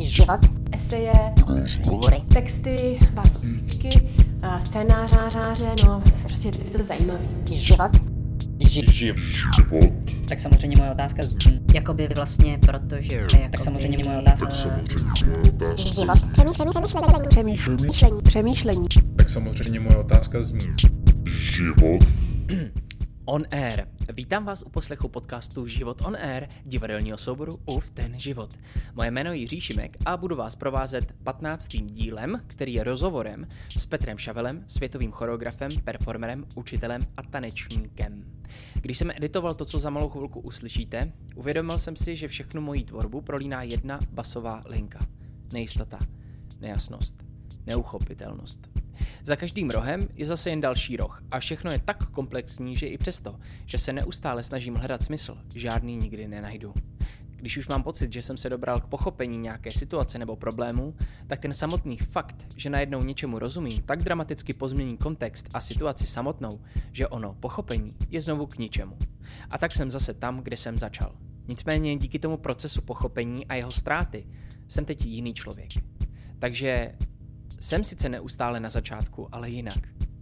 život, eseje, hovory, texty, básničky, scénáře, no prostě je to zajímavé. život, Tak samozřejmě moje otázka zní, Jakoby vlastně, protože... tak samozřejmě moje otázka život, Přemýšlení. Tak samozřejmě moje otázka zní. On Air. Vítám vás u poslechu podcastu Život on Air, divadelního souboru Uf ten život. Moje jméno je Jiří Šimek a budu vás provázet 15. dílem, který je rozhovorem s Petrem Šavelem, světovým choreografem, performerem, učitelem a tanečníkem. Když jsem editoval to, co za malou chvilku uslyšíte, uvědomil jsem si, že všechnu moji tvorbu prolíná jedna basová linka. Nejistota, nejasnost, neuchopitelnost. Za každým rohem je zase jen další roh a všechno je tak komplexní, že i přesto, že se neustále snažím hledat smysl, žádný nikdy nenajdu. Když už mám pocit, že jsem se dobral k pochopení nějaké situace nebo problému, tak ten samotný fakt, že najednou něčemu rozumím, tak dramaticky pozmění kontext a situaci samotnou, že ono pochopení je znovu k ničemu. A tak jsem zase tam, kde jsem začal. Nicméně díky tomu procesu pochopení a jeho ztráty jsem teď jiný člověk. Takže jsem sice neustále na začátku, ale jinak.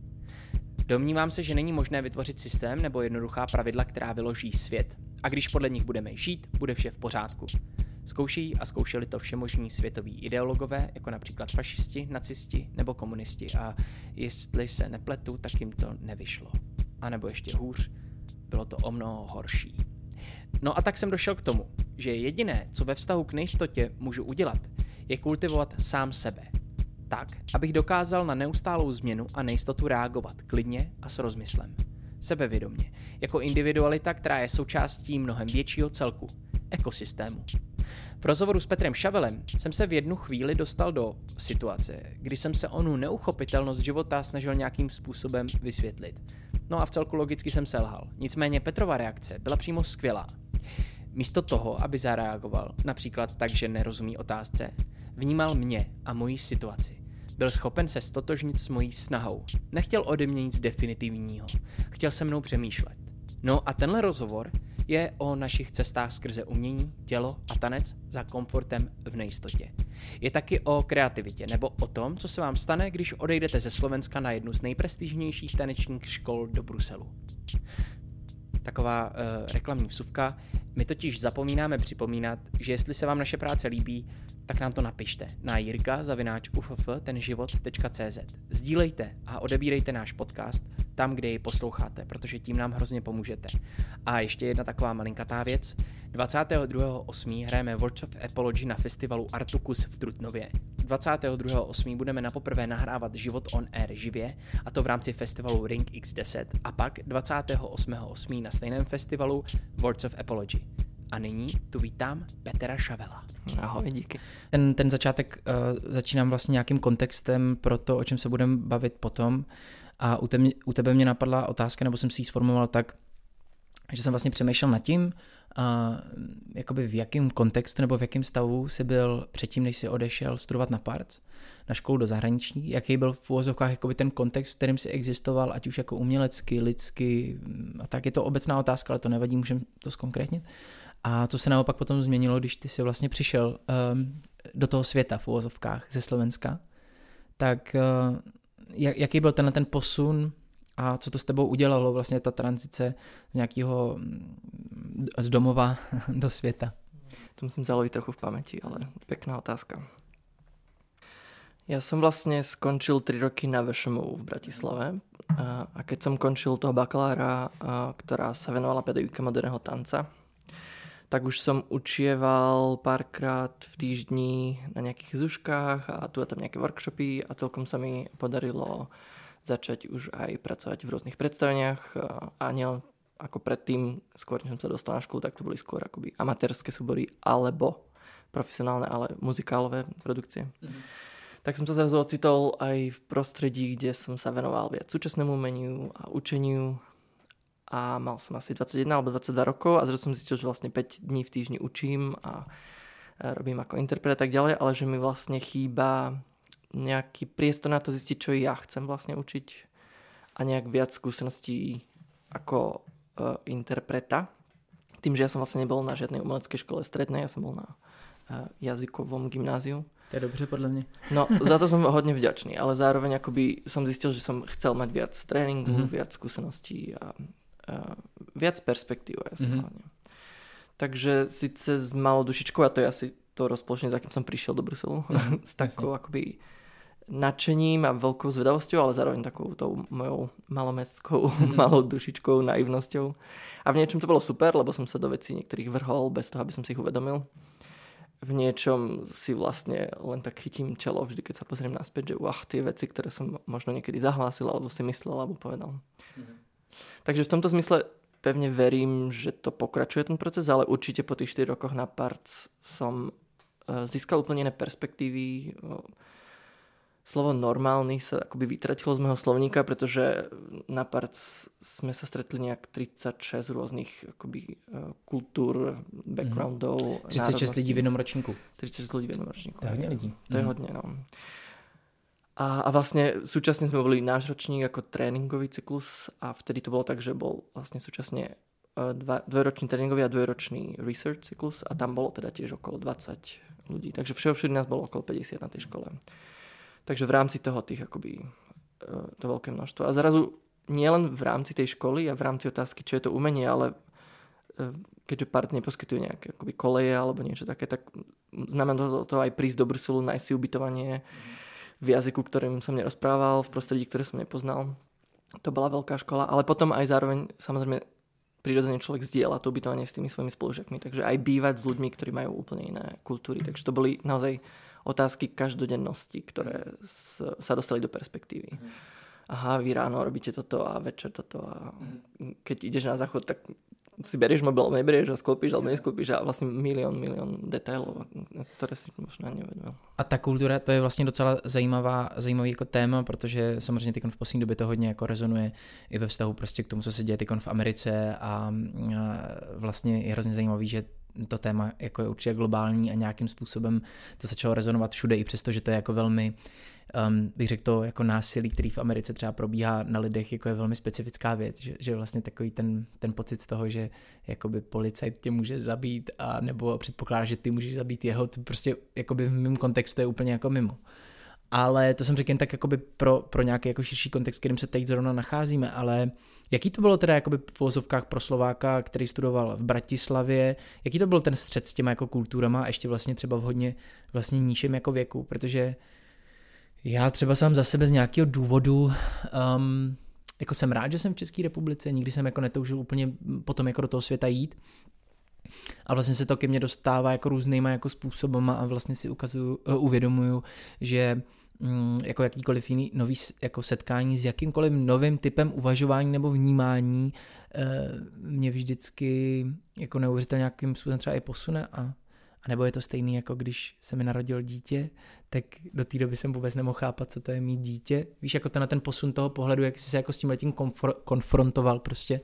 Domnívám se, že není možné vytvořit systém nebo jednoduchá pravidla, která vyloží svět. A když podle nich budeme žít, bude vše v pořádku. Zkouší a zkoušeli to všemožní světoví ideologové, jako například fašisti, nacisti nebo komunisti. A jestli se nepletu, tak jim to nevyšlo. A nebo ještě hůř, bylo to o mnoho horší. No a tak jsem došel k tomu, že jediné, co ve vztahu k nejistotě můžu udělat, je kultivovat sám sebe. Tak, abych dokázal na neustálou změnu a nejistotu reagovat klidně a s rozmyslem. Sebevědomě, jako individualita, která je součástí mnohem většího celku, ekosystému. V rozhovoru s Petrem Šavelem jsem se v jednu chvíli dostal do situace, kdy jsem se onu neuchopitelnost života snažil nějakým způsobem vysvětlit. No a v celku logicky jsem selhal. Nicméně Petrova reakce byla přímo skvělá. Místo toho, aby zareagoval, například tak, že nerozumí otázce, vnímal mě a moji situaci. Byl schopen se stotožnit s mojí snahou. Nechtěl ode mě nic definitivního. Chtěl se mnou přemýšlet. No a tenhle rozhovor je o našich cestách skrze umění, tělo a tanec za komfortem v nejistotě. Je taky o kreativitě nebo o tom, co se vám stane, když odejdete ze Slovenska na jednu z nejprestižnějších tanečních škol do Bruselu. Taková reklamní vsuvka. My totiž zapomínáme připomínat, že jestli se vám naše práce líbí, tak nám to napište na jirka@tenživot.cz. Sdílejte a odebírejte náš podcast tam, kde ji posloucháte, protože tím nám hrozně pomůžete. A ještě jedna taková malinkatá věc. 22.8. hrajeme Words of Apology na festivalu Artukus v Trutnově. 22.8. budeme napoprvé nahrávat Život on Air živě, a to v rámci festivalu Ring X10, a pak 28.8. na stejném festivalu Words of Apology. A nyní tu vítám Petra Šavela. Ahoj, díky. Ten začátek začínám vlastně nějakým kontextem pro to, o čem se budeme bavit potom. A u tebe mě napadla otázka, nebo jsem si ji sformuloval tak, že jsem vlastně přemýšlel nad tím, jakoby v jakém kontextu nebo v jakém stavu jsi byl předtím, než jsi odešel studovat na Parc, na školu do zahraničí, jaký byl v uvozovkách jakoby ten kontext, v kterém jsi existoval, ať už jako umělecky, lidsky, a tak je to obecná otázka, ale to nevadí, můžeme to zkonkrétnit. A co se naopak potom změnilo, když ty jsi vlastně přišel do toho světa v uvozovkách ze Slovenska, tak jaký byl ten posun a co to s tebou udělalo vlastně ta tranzice z nějakého z domova do světa? To musím zaloviť trochu v pamäti, ale pekná otázka. Ja som vlastne skončil 3 roky na VŠMU v Bratislave a keď som končil toho bakalára, ktorá sa venovala pedagogike moderného tanca, tak už som učieval párkrát v týždni na nejakých zuškách a tu a tam nejaké workshopy a celkom sa mi podarilo začať už aj pracovať v rôznych predstaveniach a nielen ako predtým, skôr než som sa dostal na školu, tak to boli skôr akoby amatérske súbory alebo profesionálne, ale muzikálové produkcie. Tak som sa zrazu ocitol aj v prostredí, kde som sa venoval viac súčasnému umeniu a učeniu a mal som asi 21 alebo 22 rokov a zrazu som zistil, že vlastne 5 dní v týždni učím a robím ako interpret a tak ďalej, ale že mi vlastne chýba nejaký priestor na to zistiť, čo ja chcem vlastne učiť a nejak viac skúseností ako interpreta. Tým, že ja som vlastne nebol na žiadnej umeleckej škole strednej, ja som bol na jazykovom gymnáziu. To je dobře podle mě. No, za to som hodne vďačný, ale zároveň akoby som zistil, že som chcel mať viac tréningu, viac skúseností a viac perspektív hlavne. Takže síce s malou dušičkou, a to je asi to rozpoloženie, za kým som prišiel do Bruselu, s takou akoby nadšením a veľkou zvedavosťou, ale zároveň takou tou mojou malomestskou, malou dušičkou, naivnosťou. A v niečom to bolo super, lebo som sa do vecí niektorých vrhol bez toho, aby som si ich uvedomil. V niečom si vlastne len tak chytím čelo vždy, keď sa pozriem naspäť, že tie veci, ktoré som možno niekedy zahlásil, alebo si myslel, alebo povedal. Takže v tomto zmysle pevne verím, že to pokračuje ten proces, ale určite po tých 4 rokoch na Parc som získal úplne iné perspektívy. Slovo normálny sa akoby vytratilo z môjho slovníka, pretože na Parc sme sa stretli nejak 36 rôznych akoby kultúr, backgroundov. 36 lidí v jednom ročníku. 36 ľudí v jednom ročníku. To je hodne lidí. To je hodne, no. A vlastne súčasne sme boli náš ročník ako tréningový cyklus a vtedy to bolo tak, že bol vlastne súčasne dvojročný tréningový a dvojročný research cyklus a tam bolo teda tiež okolo 20 ľudí. Takže všeobšedy nás bolo okolo 50 na tej škole. Takže v rámci toho tých akoby to veľké množstvo. A zrazu nielen v rámci tej školy a v rámci otázky, čo je to umenie, ale keďže Part neposkytuje nejaké akoby koleje alebo niečo také, tak znamená to aj prísť do Bruselu, nájsť si ubytovanie v jazyku, ktorým som nerozprával, v prostredí, ktoré som nepoznal. To bola veľká škola, ale potom aj zároveň samozrejme prirodzene človek zdieľa to ubytovanie s tými svojimi spolužiakmi, takže aj bývať s ľuďmi, ktorí majú úplne iné kultúry. Takže to boli naozaj otázky každodennosti, ktoré sa dostali do perspektívy. Aha, vy ráno robíte toto a večer toto a keď ideš na záchod, tak si berieš mobil, neberieš a sklopíš alebo nesklopíš a vlastne milión detailov, ktoré si možná neuvědomil. A ta kultura, to je vlastně docela zajímavý jako téma, protože samozřejmě teď v poslední době to hodně jako rezonuje i ve vztahu prostě k tomu, co se děje teď v Americe a vlastně je hrozně zajímavý, že to téma jako je určitě globální a nějakým způsobem to začalo rezonovat všude, i přesto, že to je jako velmi, bych řekl to, jako násilí, který v Americe třeba probíhá na lidech, jako je velmi specifická věc, že vlastně takový ten pocit z toho, že jakoby policajt tě může zabít a nebo předpokládá, že ty můžeš zabít jeho, to prostě jakoby v mém kontextu je úplně jako mimo. Ale to jsem řekl jen tak jakoby pro nějaký jako širší kontext, kterým se teď zrovna nacházíme, ale jaký to bylo teda jakoby v uvozovkách pro Slováka, který studoval v Bratislavě, jaký to byl ten střed s těma jako kulturama a ještě vlastně třeba v hodně vlastně nižším jako věku, protože já třeba sám za sebe z nějakého důvodu jako jsem rád, že jsem v České republice, nikdy jsem jako netoužil úplně potom jako do toho světa jít. A vlastně se to ke mně dostává jako různýma jako způsobama a vlastně si uvědomuju, že jako jakýkoliv jiný nový jako setkání s jakýmkoliv novým typem uvažování nebo vnímání mě vždycky jako neuvěřitelně nějakým způsobem třeba i posune a nebo je to stejný, jako když se mi narodil dítě, tak do té doby jsem vůbec nemohl chápat, co to je mít dítě. Víš, jako ten posun toho pohledu, jak jsi se jako s tímhletím konfrontoval prostě?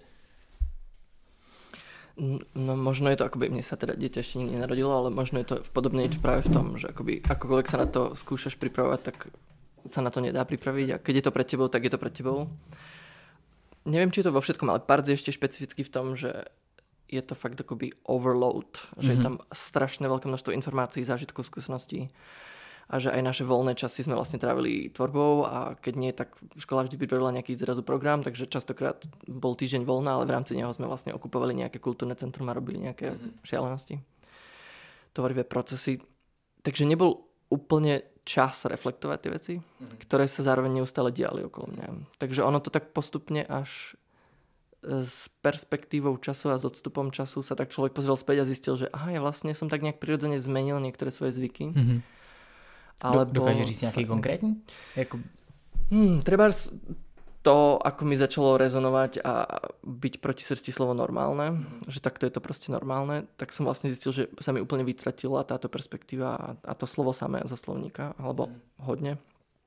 No možno je to, akoby mne sa teda dieťa ešte nikdy nenarodilo, ale možno je to podobne niečo práve v tom, že akoby akokoľvek sa na to skúšaš pripravovať, tak sa na to nedá pripraviť a keď je to pred tebou, tak je to pred tebou. Neviem, či je to vo všetkom, ale Parc je ešte špecificky v tom, že je to fakt akoby overload, že je tam strašné veľké množstvo informácií, zážitkov, skúseností a že aj naše voľné časy sme vlastne trávili tvorbou a keď nie, tak škola vždy pripravila nejaký zrazu program, takže častokrát bol týždeň voľná, ale v rámci neho sme vlastne okupovali nejaké kultúrne centrum a robili nejaké šialenosti, tvorivé procesy. Takže nebol úplne čas reflektovať tie veci, ktoré sa zároveň neustále diali okolo mňa. Takže ono to tak postupne až s perspektívou času a s odstupom času sa tak človek pozrel späť a zistil, že aha, ja vlastne som tak nejak prirodzene zmenil niektoré svoje zvyky. Alebo... Dokáže říct nějaký konkrétní? Jako... Treba to, ako mi začalo rezonovať a byť proti srsti slovo normálne, že takto je to proste normálne, tak som vlastne zistil, že sa mi úplne vytratila táto perspektíva a to slovo samé zo slovníka, alebo hodne.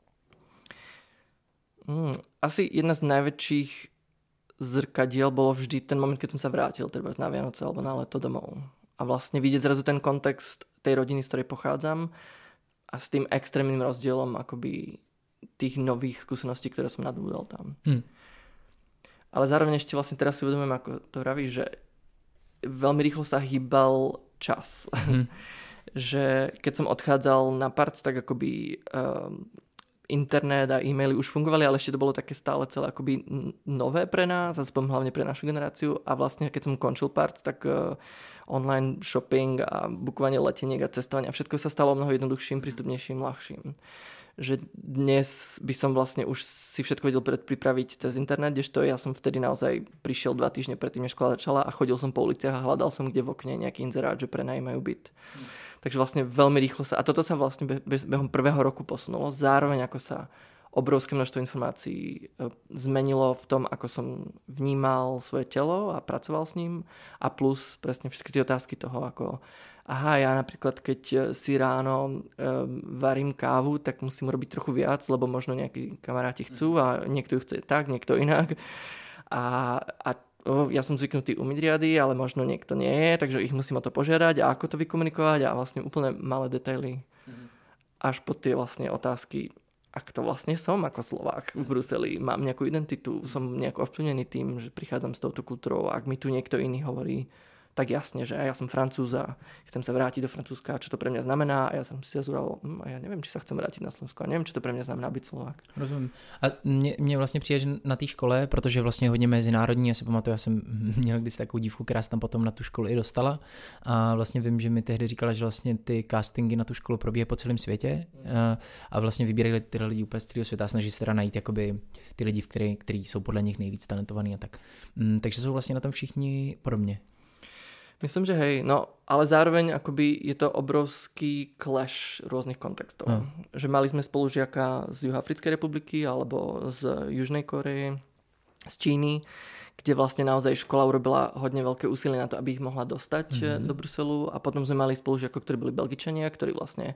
Asi jedna z najväčších zrkadiel bolo vždy ten moment, keď som sa vrátil, treba na Vianoce alebo na leto domov. A vlastne vidieť zrazu ten kontext tej rodiny, z ktorej pochádzam, a s tým extrémnym rozdielom akoby tých nových skúseností, ktoré som nadbudol tam. Ale zároveň ešte vlastne teraz si uvedomujem, ako to vravíš, že veľmi rýchlo sa hýbal čas. že keď som odchádzal na Parc, tak akoby internet a e-maily už fungovali, ale ešte to bolo také stále celé akoby nové pre nás, aspoň hlavne pre našu generáciu. A vlastne keď som končil Parc, tak online shopping a bukovanie leteniek a cestovanie a všetko sa stalo mnoho jednoduchším, prístupnejším, ľahším. Že dnes by som vlastne už si všetko vedel pripraviť cez internet, kdežto ja som vtedy naozaj prišiel 2 týždne predtým, než škola začala a chodil som po uliciach a hľadal som kde v okne nejaký inzerát, že prenajímajú byt. Takže vlastne veľmi rýchlo sa, a toto sa vlastne behom prvého roku posunulo, zároveň ako sa obrovské množstvo informácií zmenilo v tom, ako som vnímal svoje telo a pracoval s ním a plus presne všetky tie otázky toho, ako aha, ja napríklad keď si ráno varím kávu, tak musím robiť trochu viac, lebo možno nejakí kamaráti chcú a niekto ju chce tak, niekto inak. A ja som zvyknutý umyť riady, ale možno niekto nie je, takže ich musím o to požiadať a ako to vykomunikovať a vlastne úplne malé detaily. Až po tie vlastne otázky, ak to vlastne som ako Slovák v Bruseli, mám nejakú identitu, som nejako ovplyvnený tým, že prichádzam s touto kultúrou, ak mi tu niekto iný hovorí, tak jasne, že ja som Francúz a chcem sa vrátiť do Francúzska, čo to pre mňa znamená a ja som si zazúral, a ja neviem, či sa chcem vrátiť na Slovensko a neviem, čo to pre mňa znamená byť Slovák. Rozumím. A mě vlastně přijde, že na té škole, protože vlastně hodně mezinárodní, já si pamatuju, já jsem měl kdysi takovou dívku, která se tam potom na tu školu i dostala a vlastně vím, že mi tehdy říkala, že vlastně ty castingy na tu školu probíhají po celém světě a vlastně vybírají ty lidi úplně z celého světa a snaží se teda najít jakoby ty lidi, kteří jsou podle nich nejvíc talentovaní a tak. Takže jsou vlastně na tom všichni podobně. Myslím, že hej, no ale zároveň akoby je to obrovský clash rôznych kontextov. Že mali sme spolužiaka z Juhoafrickej republiky alebo z Južnej Koreje, z Číny, kde vlastne naozaj škola urobila hodne veľké úsilie na to, aby ich mohla dostať do Bruselu a potom sme mali spolužiakov, ktorí boli Belgičania, ktorí vlastne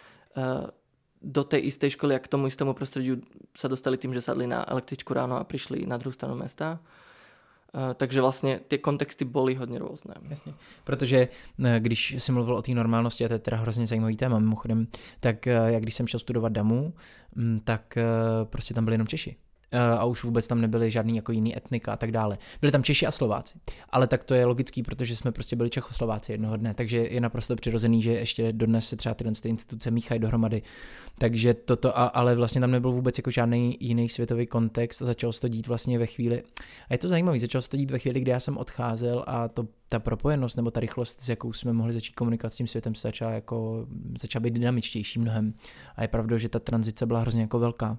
do tej istej školy a k tomu istému prostrediu sa dostali tým, že sadli na električku ráno a prišli na druhú stranu mesta. Takže vlastně ty kontexty byly hodně různé. Jasně, protože když jsem mluvil o té normálnosti, a to je teda hrozně zajímavý téma mimochodem, tak jak když jsem šel studovat DAMU, tak prostě tam byli jenom Češi. A už vůbec tam nebyly žádný jako jiný etnika a tak dále. Byli tam Češi a Slováci. Ale tak to je logický, protože jsme prostě byli Čechoslováci jednoho dne, takže je naprosto přirozený, že ještě dodnes se třeba tyhle instituce míchají dohromady. Takže toto, ale vlastně tam nebyl vůbec jako žádný jiný světový kontext a začalo se to dít vlastně ve chvíli. A je to zajímavé, začalo se to dít ve chvíli, kdy já jsem odcházel a ta propojenost nebo ta rychlost, s jakou jsme mohli začít komunikovat s tím světem, se začala být dynamičtější mnohem. A je pravda, že ta tranzice byla hrozně jako velká.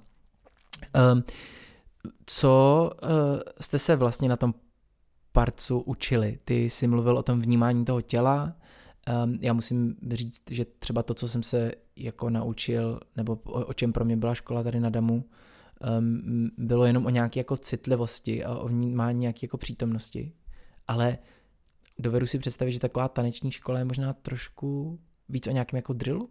Co jste se vlastně na tom Parcu učili? Ty jsi mluvil o tom vnímání toho těla. Já musím říct, že třeba to, co jsem se jako naučil, nebo o čem pro mě byla škola tady na DAMU, bylo jenom o nějaké jako citlivosti a o vnímání nějaké jako přítomnosti. Ale dovedu si představit, že taková taneční škola je možná trošku víc o nějakém jako drillu?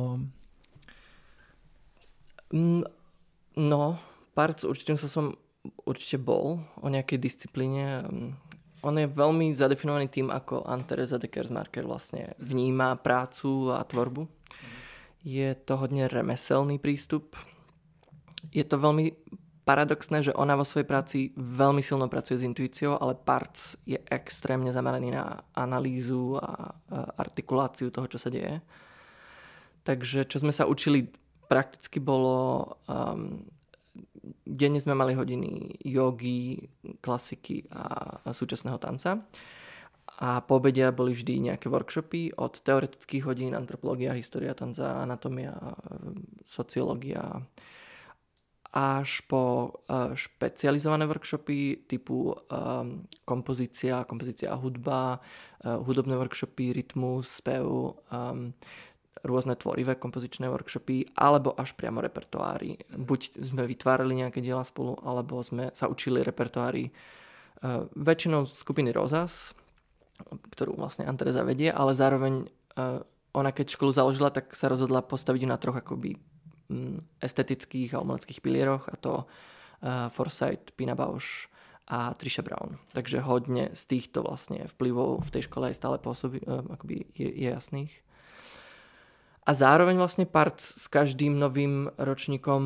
No, Parc určite bol o nejakej disciplíne. On je veľmi zadefinovaný tým, ako Anne-Theresa de Kersmacher vlastne vníma prácu a tvorbu. Je to hodne remeselný prístup. Je to veľmi paradoxné, že ona vo svojej práci veľmi silno pracuje s intuíciou, ale Parc je extrémne zameraný na analýzu a artikuláciu toho, čo sa deje. Takže čo sme sa učili prakticky bolo... Denne sme mali hodiny jogy, klasiky a súčasného tanca. A po obede boli vždy nejaké workshopy od teoretických hodín, antropológia, história tanca, anatómia, sociológia, až po špecializované workshopy typu kompozícia a hudba, hudobné workshopy, rytmus, spev, rôzne tvorivé kompozičné workshopy, alebo až priamo repertoáry. Buď sme vytvárali nejaké diela spolu, alebo sme sa učili repertoáry väčšinou skupiny Rosas, ktorú vlastne Anne-Theresa vedie, ale zároveň ona keď školu založila, tak sa rozhodla postaviť na troch akoby estetických a umeleckých pilieroch, a to Forsyth, Pina Bausch a Trisha Brown. Takže hodne z týchto vlastne vplyvov v tej škole aj stále pôsobí, akoby je jasných. A zároveň vlastne Parc s každým novým ročníkom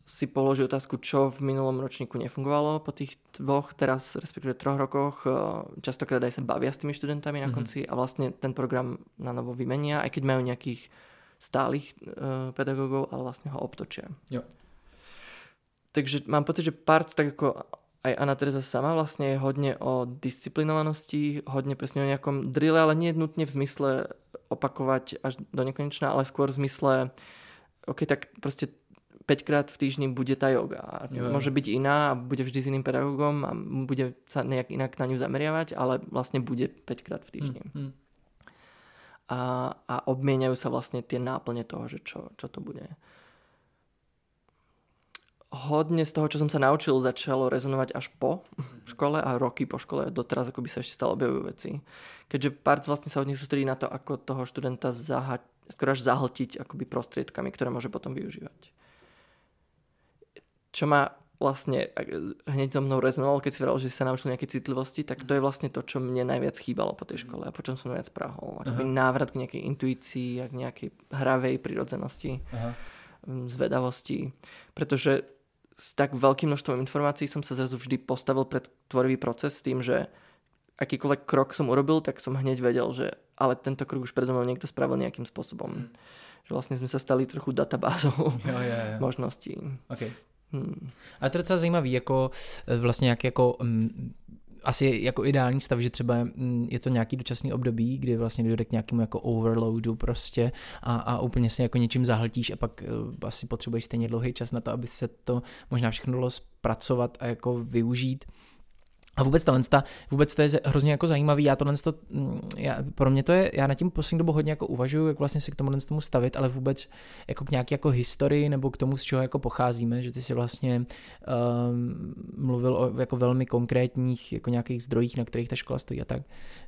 si položí otázku, čo v minulom ročníku nefungovalo po tých 2, teraz respektíve 3 rokoch. Častokrát aj sa bavia s tými študentami na konci a vlastne ten program na novo vymenia, aj keď majú nejakých stálych pedagógov, ale vlastne ho obtočia. Jo. Takže mám pocit, že Parc, tak ako aj Anna Teresa sama, vlastne je hodne o disciplinovanosti, hodne presne o nejakom drille, ale nie nutne v zmysle opakovať až do nekonečna, ale skôr v zmysle OK, tak proste 5-krát v týždni bude tá yoga. Môže byť iná a bude vždy s iným pedagógom a bude sa nejak inak na ňu zameriavať, ale vlastne bude 5-krát v týždni. A obmieniajú sa vlastne tie náplne toho, že čo to bude. Hodne z toho, čo som sa naučil, začalo rezonovať až po škole a roky po škole. Doteraz ako by sa ešte stále objavujú veci. Keďže Parc vlastne sa hodne sústredí na to, ako toho študenta skoro až zahltiť akoby prostriedkami, ktoré môže potom využívať. Čo ma vlastne hneď so mnou rezonovalo, keď si vravel, že si sa naučil nejaké citlivosti, tak to je vlastne to, čo mne najviac chýbalo po tej škole a po čom som najviac prahol. Akoby návrat k nejakej intuícii a k nejakej hravej prirodzenosti, zvedavosti. Pretože s tak veľkým množstvom informácií som sa zrazu vždy postavil pred tvorivý proces s tým, že akýkoľvek krok som urobil, tak som hneď vedel, že ale tento krok už predo mnou niekto spravil nejakým spôsobom. Že vlastne sme sa stali trochu databázou možností. Okay. Ale to je docela zajímavý, jako vlastně nějaký jako asi jako ideální stav, že třeba je to nějaký dočasný období, kdy vlastně dojde k nějakému jako overloadu prostě a úplně se jako něčím zahltíš a pak asi potřebuješ stejně dlouhý čas na to, aby se to možná všechno dalo zpracovat a jako využít. A vůbec to je hrozně jako zajímavý, pro mě to je, já nad tím poslední dobu hodně jako uvažuju, jak vlastně se k tomu stavit, ale vůbec jako k nějaký jako historii nebo k tomu, z čeho jako pocházíme, že ty si vlastně mluvil o jako velmi konkrétních jako nějakých zdrojích, na kterých ta škola stojí a tak.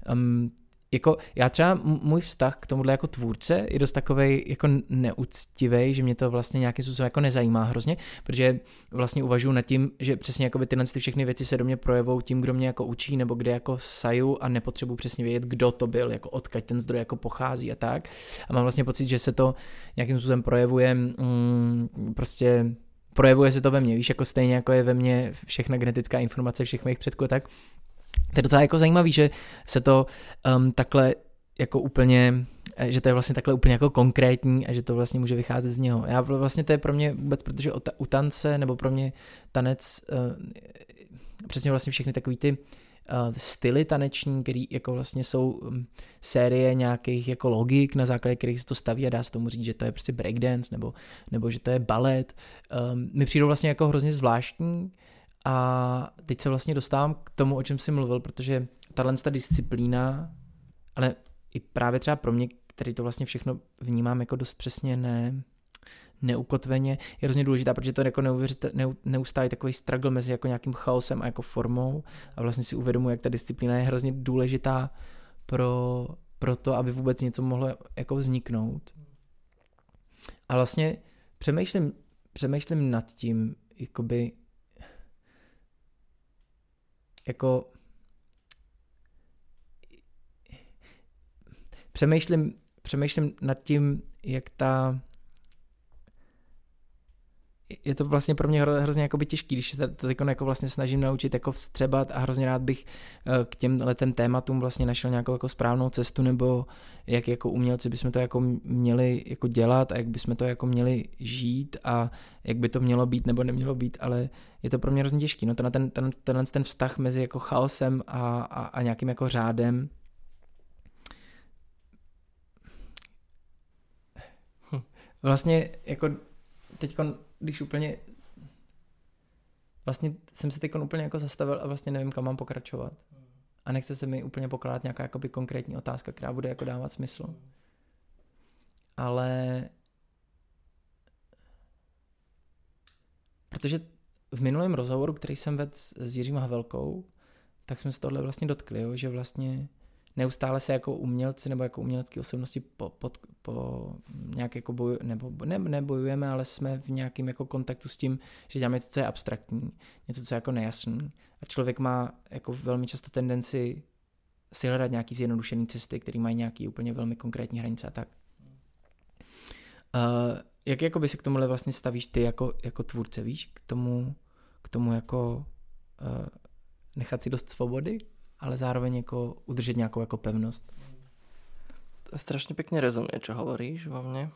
Jako já třeba můj vztah k tomuhle jako tvůrce je dost takovej jako neúctivej, že mě to vlastně nějakým způsobem jako nezajímá hrozně, protože vlastně uvažuji nad tím, že přesně jako tyhle všechny věci se do mě projevou tím, kdo mě jako učí nebo kde jako saju a nepotřebuji přesně vědět, kdo to byl, jako odkud ten zdroj jako pochází a tak. A mám vlastně pocit, že se to nějakým způsobem projevuje prostě projevuje se to ve mně, víš, jako stejně jako je ve mně všechna genetická informace všech mých předků a tak. To je docela jako zajímavý, že se to takhle jako úplně, že to je vlastně takhle úplně jako konkrétní a že to vlastně může vycházet z něho. Já vlastně to je pro mě vůbec, protože u tance, nebo pro mě tanec, přesně vlastně všechny takový ty styly taneční, který jako vlastně jsou série nějakých jako logik, na základě kterých se to staví a dá se tomu říct, že to je prostě breakdance nebo že to je balet. Mi přijdou vlastně jako hrozně zvláštní. A teď se vlastně dostávám k tomu, o čem jsi mluvil, protože ta disciplína, ale i právě třeba pro mě, který to vlastně všechno vnímám jako dost přesně neukotveně, je hrozně důležitá, protože to je jako neustálý takový struggle mezi jako nějakým chaosem a jako formou a vlastně si uvědomuji, jak ta disciplína je hrozně důležitá pro to, aby vůbec něco mohlo jako vzniknout. A vlastně přemýšlím nad tím, jakoby jako přemýšlím nad tím, jak je to vlastně pro mě hrozně jakoby těžký, když se to jako vlastně snažím naučit jako vstřebat a hrozně rád bych k těmhletem tématům vlastně našel nějakou jako správnou cestu, nebo jak jako umělci bychom to jako měli jako dělat a jak bychom to jako měli žít a jak by to mělo být nebo nemělo být, ale je to pro mě hrozně těžký. No to na ten vztah mezi jako chaosem a nějakým jako řádem. Vlastně jako teďko, když úplně vlastně jsem se teď úplně jako zastavil a vlastně nevím, kam mám pokračovat. A nechce se mi úplně pokládat nějaká jakoby konkrétní otázka, která bude jako dávat smysl. Ale protože v minulém rozhovoru, který jsem vedl s Jiřím Havelkou, tak jsme se tohle vlastně dotkli, jo, že vlastně neustále se jako umělci nebo jako umělecké osobnosti po nějak jako nebojujeme, ale jsme v nějakém jako kontaktu s tím, že děláme něco, co je abstraktní, něco, co je jako nejasný. A člověk má jako velmi často tendenci si hledat nějaký zjednodušený cesty, které mají nějaký úplně velmi konkrétní hranice a tak. Jak jakoby se k tomuhle vlastně stavíš ty jako tvůrce, víš? K tomu jako nechat si dost svobody, ale zároveň jako udržet nějakou jako pevnost. Strašne pekne rezonuje, čo hovoríš vo mne.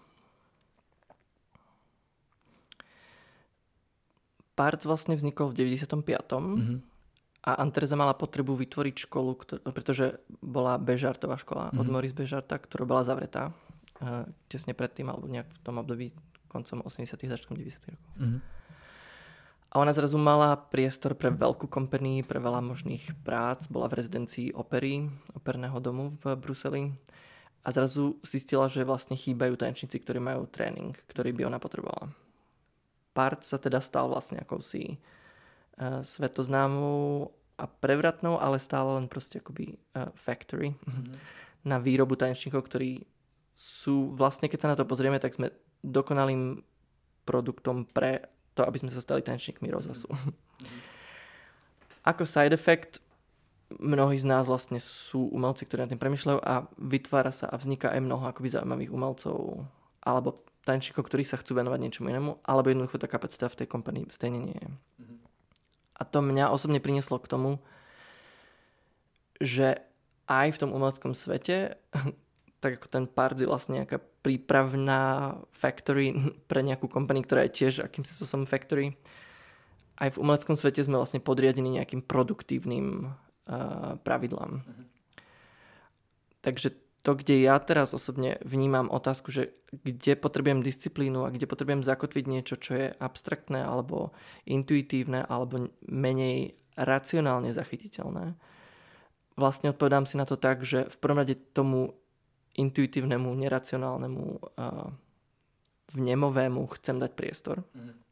Parc vlastne vznikol v 95. A Antereza mala potrebu vytvoriť školu, pretože bola Bežartová škola od Maurice Bežarta, ktorá bola zavretá tesne predtým, alebo nejak v tom období koncom 80. začiatkom 90. rokov. A ona zrazu mala priestor pre veľkú company, pre veľa možných prác, bola v rezidencii opery, operného domu v Bruseli. A zrazu zistila, že vlastne chýbajú tanečníci, ktorí majú tréning, ktorý by ona potrebovala. Parc sa teda stal vlastne akousi svetoznámou a prevratnou, ale stále len proste akoby factory na výrobu tanečníkov, ktorí sú vlastne, keď sa na to pozrieme, tak sme dokonalým produktom pre to, aby sme sa stali tanečníkmi rozhlasu. Ako side effect, mnohí z nás vlastne sú umelci, ktorí na tým premýšľajú a vytvára sa a vzniká aj mnoho akoby zaujímavých umelcov alebo tanečníkov, ktorí sa chcú venovať niečomu inému, alebo jednoducho tá kapacita v tej kompanii stejne nie je. A to mňa osobne prinieslo k tomu, že aj v tom umeleckom svete, tak ako ten Parc je vlastne nejaká prípravná factory pre nejakú kompaniu, ktorá je tiež akýmsi spôsobom factory, aj v umeleckom svete sme vlastne podriadení nejakým produktívnym pravidlám. Takže to, kde ja teraz osobne vnímam otázku, že kde potrebujem disciplínu a kde potrebujem zakotviť niečo, čo je abstraktné alebo intuitívne alebo menej racionálne zachytiteľné, vlastne odpovedám si na to tak, že v prvom rade tomu intuitívnemu, neracionálnemu, vnemovému chcem dať priestor.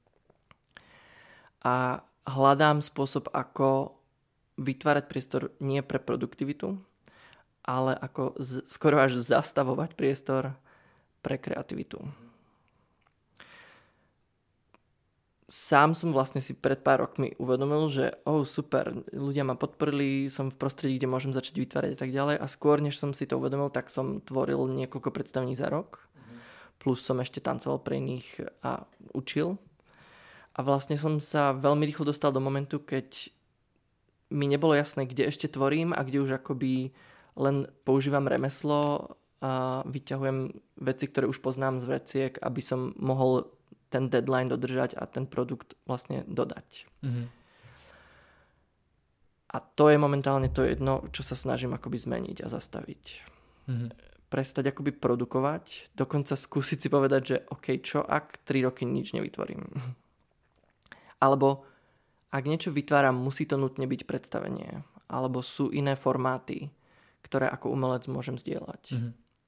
A hľadám spôsob, ako vytvárať priestor nie pre produktivitu, ale ako skoro až zastavovať priestor pre kreativitu. Sám som vlastne si pred pár rokmi uvedomil, že super, ľudia ma podporili, som v prostredí, kde môžem začať vytvárať a tak ďalej a skôr, než som si to uvedomil, tak som tvoril niekoľko predstavení za rok, plus som ešte tancoval pre iných a učil. A vlastne som sa veľmi rýchlo dostal do momentu, keď mi nebolo jasné, kde ešte tvorím a kde už akoby len používam remeslo a vyťahujem veci, ktoré už poznám z vreciek, aby som mohol ten deadline dodržať a ten produkt vlastne dodať. A to je momentálne to jedno, čo sa snažím akoby zmeniť a zastaviť. Prestať akoby produkovať, dokonca skúsiť si povedať, že OK, čo ak 3 roky nič nevytvorím? Alebo ak niečo vytváram, musí to nutne byť predstavenie. Alebo sú iné formáty, ktoré ako umelec môžem zdieľať.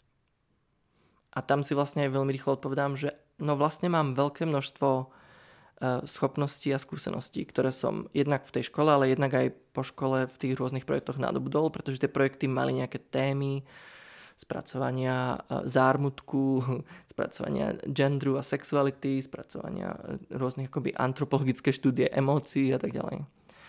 A tam si vlastne aj veľmi rýchlo odpovedám, že no vlastne mám veľké množstvo schopností a skúseností, ktoré som jednak v tej škole, ale jednak aj po škole v tých rôznych projektoch nadobudol, pretože tie projekty mali nejaké témy, spracovania zármutku, spracovania genderu a sexuality, spracovania rôznych akoby antropologické štúdie emócií a tak ďalej.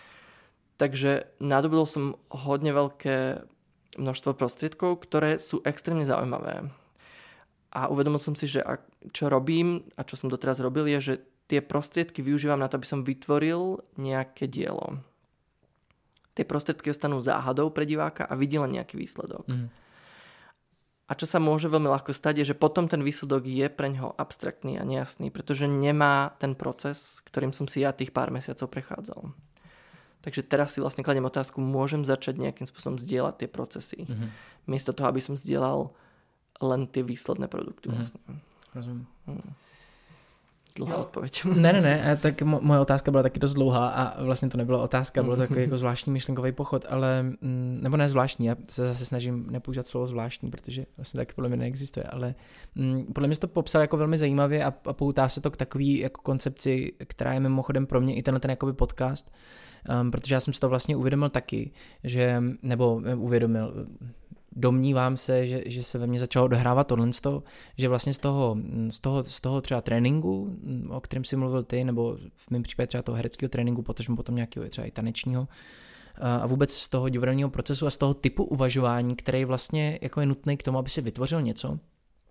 Takže nadobudol som hodne veľké množstvo prostriedkov, ktoré sú extrémne zaujímavé. A uvedomil som si, že čo robím a čo som doteraz robil, je, že tie prostriedky využívam na to, aby som vytvoril nejaké dielo. Tie prostriedky ostanú záhadou pre diváka a vidí len nejaký výsledok. A čo sa môže veľmi ľahko stať, je, že potom ten výsledok je pre ňoho abstraktný a nejasný, pretože nemá ten proces, ktorým som si ja tých pár mesiacov prechádzal. Takže teraz si vlastne kladiem otázku, môžem začať nejakým spôsobom zdieľať tie procesy. Miesto toho, aby som zdieľal len tie výsledné produkty vlastne. Rozumím. Dlouhá odpověď. Ne, tak moje otázka byla taky dost dlouhá a vlastně to nebyla otázka, bylo to takový jako zvláštní myšlenkový pochod, ale, nebo ne zvláštní, já se zase snažím nepoužívat slovo zvláštní, protože vlastně taky podle mě neexistuje, ale podle mě jsi to popsal jako velmi zajímavě a poutá se to k takový jako koncepci, která je mimochodem pro mě i ten jakoby podcast, protože já jsem si to vlastně uvědomil taky, že, nebo uvědomil, domnívám se, že se ve mně začalo dohrávat tohle, že vlastně z toho třeba tréninku, o kterém si mluvil ty, nebo v mém případě třeba toho hereckého tréninku, potom nějakého třeba i tanečního, a vůbec z toho divadelního procesu a z toho typu uvažování, který vlastně jako je nutný k tomu, aby si vytvořil něco,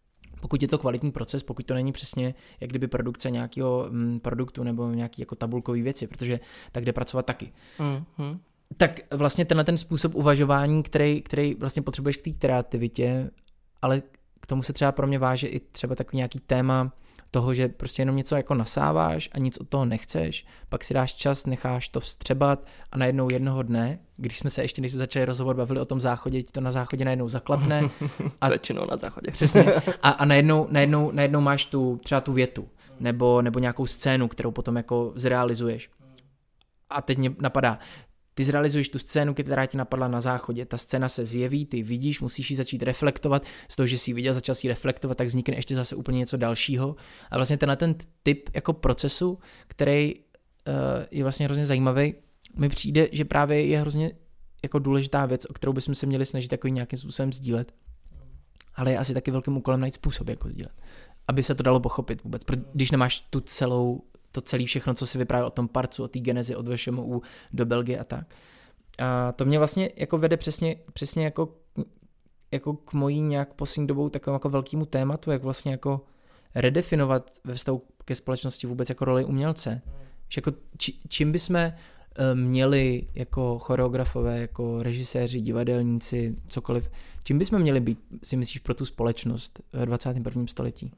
pokud je to kvalitní proces, pokud to není přesně jak kdyby produkce nějakého produktu nebo nějaký jako tabulkový věci, protože tak jde pracovat taky. Tak vlastně tenhle ten způsob uvažování, který vlastně potřebuješ k té kreativitě, ale k tomu se třeba pro mě váže i třeba takový nějaký téma toho, že prostě jenom něco jako nasáváš a nic od toho nechceš, pak si dáš čas, necháš to vstřebat a najednou jednoho dne, když jsme začali rozhovor bavili o tom záchodě, ti to na záchodě najednou zaklapne. A většinou na záchodě. Přesně. A najednou máš třeba tu větu nebo nějakou scénu, kterou potom jako zrealizuješ. A teď mě napadá, ty zrealizuješ tu scénu, která ti napadla na záchodě, ta scéna se zjeví, ty vidíš, musíš ji začít reflektovat, z toho, že jsi ji viděl, začal si ji reflektovat, tak vznikne ještě zase úplně něco dalšího. A vlastně ten typ jako procesu, který je vlastně hrozně zajímavý, mi přijde, že právě je hrozně jako důležitá věc, o kterou bychom se měli snažit takový nějakým způsobem sdílet. Ale je asi taky velkým úkolem najít způsob, jako sdílet. Aby se to dalo pochopit vůbec, když nemáš to celé všechno, co si vyprávěl o tom parcu, o té genezi od VŠMU do Belgie a tak. A to mě vlastně jako vede přesně jako k mojí nějak poslední dobou takovému jako velkému tématu, jak vlastně jako redefinovat ve vztahu ke společnosti vůbec jako roli umělce. Že jako čím bychom měli jako choreografové, jako režiséři, divadelníci, cokoliv, čím bychom měli být, si myslíš, pro tu společnost ve 21. století?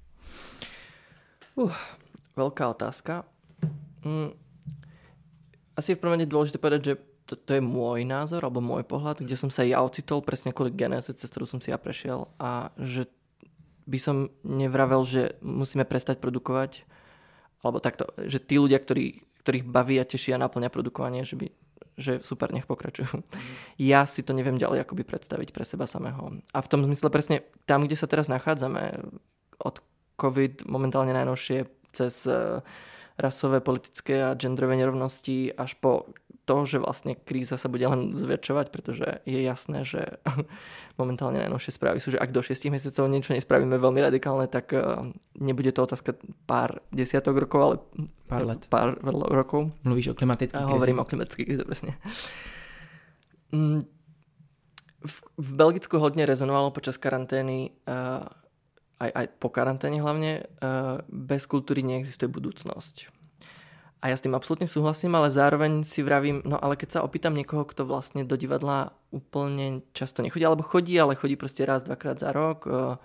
Veľká otázka. Asi je v prvom rade dôležité povedať, že to je môj názor alebo môj pohľad, kde som sa ja ocitol presne kvôli genéze, cez ktorú som si ja prešiel a že by som nevravel, že musíme prestať produkovať alebo takto, že tí ľudia, ktorých baví a teší a naplňa produkovanie, že super, nech pokračujú. Ja si to neviem ďalej akoby predstaviť pre seba samého. A v tom zmysle presne tam, kde sa teraz nachádzame od COVID momentálne najnovšie cez rasové, politické a genderové nerovnosti až po to, že vlastne kríza sa bude len zväčšovať, pretože je jasné, že momentálne najnovšie správy sú, že ak do 6 mesiacov niečo nespravíme veľmi radikálne, tak nebude to otázka pár desiatok rokov, ale pár rokov. Mluvíš o klimatickej krizi? Hovorím o klimatickej krize, presne. V Belgicku hodne rezonovalo počas karantény aj po karanténe hlavne, bez kultúry neexistuje budúcnosť. A ja s tým absolútne súhlasím, ale zároveň si vravím, no ale keď sa opýtam niekoho, kto vlastne do divadla úplne často nechodí, alebo chodí, ale chodí proste raz, dvakrát za rok,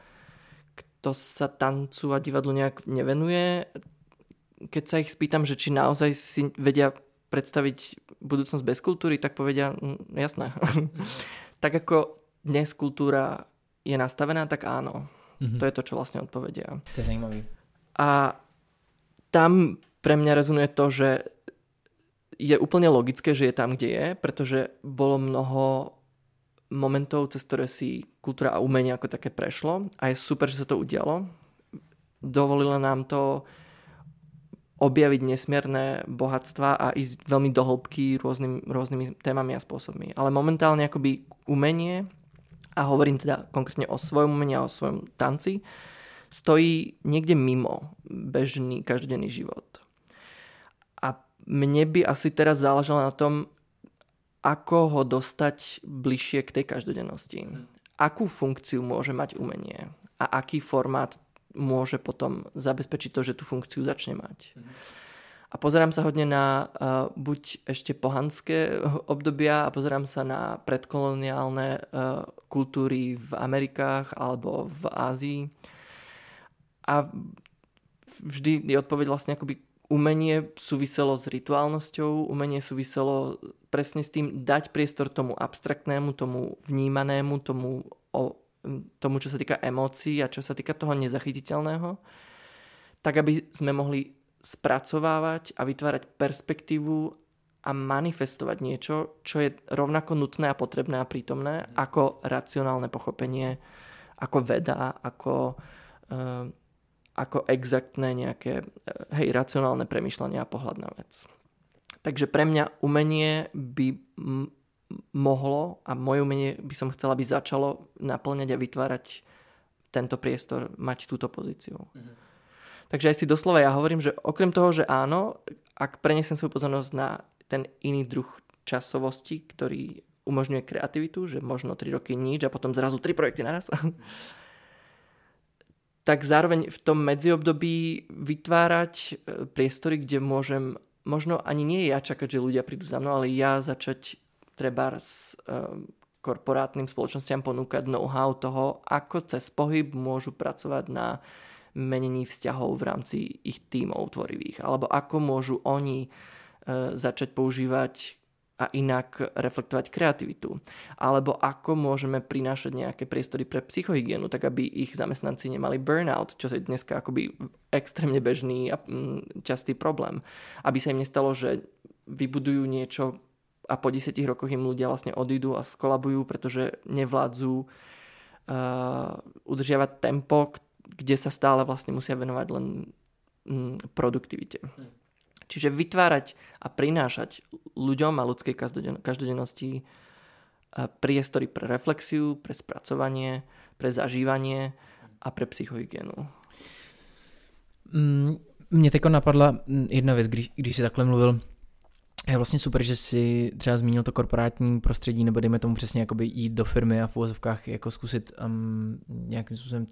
kto sa tancu a divadlu nejak nevenuje, keď sa ich spýtam, že či naozaj si vedia predstaviť budúcnosť bez kultúry, tak povedia, jasné. Tak ako dnes kultúra je nastavená, tak áno. To je to, čo vlastne odpovedia. To je zajímavý. A tam pre mňa rezonuje to, že je úplne logické, že je tam, kde je, pretože bolo mnoho momentov, cez ktoré si kultúra a umenie ako také prešlo a je super, že sa to udialo. Dovolilo nám to objaviť nesmierne bohatstva a ísť veľmi do hĺbky rôznymi témami a spôsobmi. Ale momentálne akoby umenie, a hovorím teda konkrétne o svojom umení a o svojom tanci, stojí niekde mimo bežný každodenný život. A mne by asi teraz záležalo na tom, ako ho dostať bližšie k tej každodennosti. Akú funkciu môže mať umenie a aký formát môže potom zabezpečiť to, že tú funkciu začne mať. A pozerám sa hodne na buď ešte pohanské obdobia a pozerám sa na predkoloniálne kultúry v Amerikách alebo v Ázii. A vždy je odpoveď vlastne akoby umenie súviselo s rituálnosťou, umenie súviselo presne s tým dať priestor tomu abstraktnému, tomu vnímanému, tomu, čo sa týka emócií a čo sa týka toho nezachytiteľného, tak aby sme mohli spracovávať a vytvárať perspektívu a manifestovať niečo, čo je rovnako nutné a potrebné a prítomné ako racionálne pochopenie, ako veda, ako exaktné nejaké racionálne premýšľanie a pohľad na vec. Takže pre mňa umenie by mohlo a moje umenie by som chcela, aby začalo naplňať a vytvárať tento priestor, mať túto pozíciu. Takže aj si doslova ja hovorím, že okrem toho, že áno, ak prenesem svoju pozornosť na ten iný druh časovosti, ktorý umožňuje kreativitu, že možno 3 roky nič a potom zrazu 3 projekty naraz, tak zároveň v tom medziobdobí vytvárať priestory, kde môžem, možno ani nie ja čakať, že ľudia prídu za mnou, ale ja začať treba s korporátnym spoločnostiam ponúkať know-how toho, ako cez pohyb môžu pracovať na menení vzťahov v rámci ich tímov tvorivých, alebo ako môžu oni začať používať a inak reflektovať kreativitu. Alebo ako môžeme prinášať nejaké priestory pre psychohygienu, tak aby ich zamestnanci nemali burnout, čo je dneska akoby extrémne bežný a častý problém. Aby sa im nestalo, že vybudujú niečo a po 10 rokoch im ľudia vlastne odídu a skolabujú, pretože nevládzu udržiavať tempo, kde sa stále vlastne musia venovať len produktivite. Čiže vytvárať a prinášať ľuďom a ľudskej každodennosti priestory pre reflexiu, pre spracovanie, pre zažívanie a pre psychohygienu. Mně teďko napadla jedna věc, když jsi takhle mluvil. Je vlastně super, že si třeba zmínil to korporátní prostředí, nebo dejme tomu přesně jakoby jít do firmy a v uvozovkách jako zkusit nějakým způsobem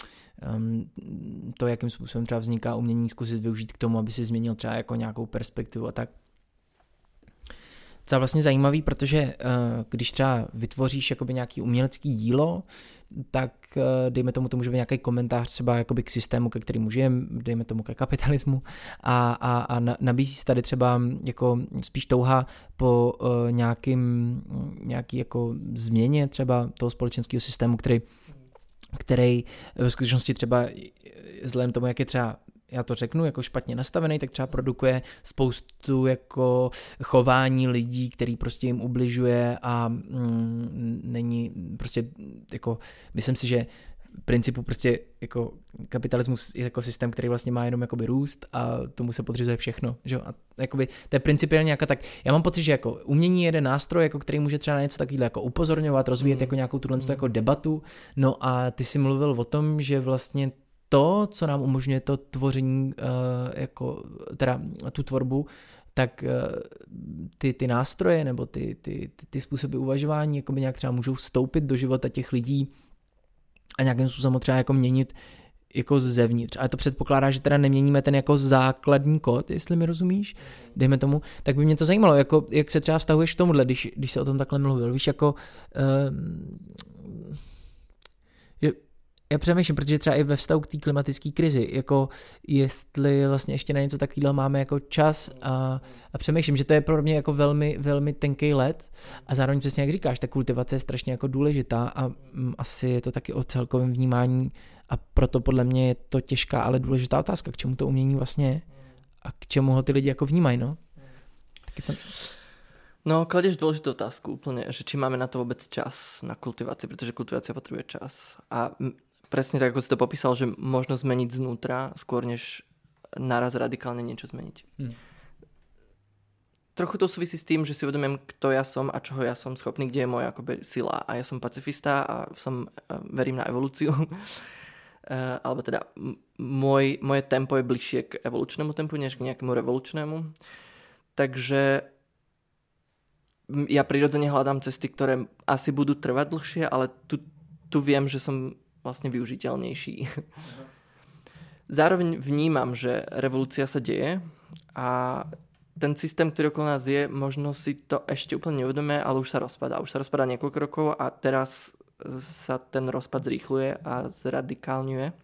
to, jakým způsobem třeba vzniká umění, zkusit využít k tomu, aby si změnil třeba jako nějakou perspektivu a tak. To je vlastně zajímavý, protože když třeba vytvoříš jakoby nějaký umělecký dílo, tak dejme tomu, to může být nějaký komentář třeba jakoby k systému, ke kterému žijeme, dejme tomu ke kapitalismu a nabízí se tady třeba jako spíš touha po nějaký jako změně třeba toho společenského systému, který ve skutečnosti třeba vzhledem tomu, jak je třeba, já to řeknu, jako špatně nastavený, tak třeba produkuje spoustu jako chování lidí, který prostě jim ubližuje a není prostě jako, myslím si, že v principu prostě jako kapitalismus je jako systém, který vlastně má jenom jakoby růst a tomu se podřizuje všechno, že? A jakoby to je principiálně nějaká tak, já mám pocit, že jako umění je jeden nástroj, jako který může třeba na něco takového jako upozorňovat, rozvíjet jako nějakou tuhle jako debatu, no a ty jsi mluvil o tom, že vlastně to, co nám umožňuje to tvoření, jako teda tu tvorbu, tak ty nástroje nebo ty způsoby uvažování jako by nějak třeba můžou vstoupit do života těch lidí a nějakým způsobem třeba jako měnit jako zevnitř. Ale to předpokládá, že teda neměníme ten jako základní kód, jestli mi rozumíš, dejme tomu, tak by mě to zajímalo, jako, jak se třeba vztahuješ k tomuhle, když se o tom takhle mluvil, víš, jako já přemýšlím, protože třeba i ve vztahu k té klimatické krizi, jako jestli vlastně ještě na něco takového máme jako čas a přemýšlím, že to je pro mě jako velmi, velmi tenký led a zároveň přesně jak říkáš, ta kultivace je strašně jako důležitá a asi je to taky o celkovém vnímání a proto podle mě je to těžká, ale důležitá otázka, k čemu to umění vlastně je a k čemu ho ty lidi jako vnímají, no? Taky to... No, kladeš dôležitú otázku úplne, že či máme na to vôbec čas na kultiváciu, pretože kultivácia potrebuje čas. A presne tak, ako si to popísal, že možno zmeniť znútra skôr, než naraz radikálne niečo zmeniť. Trochu to súvisí s tým, že si uvedomím, kto ja som a čoho ja som schopný, kde je moja akoby sila. A ja som pacifista a verím na evolúciu. Alebo teda moje tempo je bližšie k evolučnému tempu, než k nejakému revolučnému. Takže ja prirodzene hľadám cesty, ktoré asi budú trvať dlhšie, ale tu viem, že som vlastne využiteľnejší. Zároveň vnímam, že revolúcia sa deje a ten systém, ktorý okolo nás je, možno si to ešte úplne neuvedomuje, ale už sa rozpadá. Už sa rozpadá niekoľko rokov a teraz sa ten rozpad zrýchluje a zradikálňuje.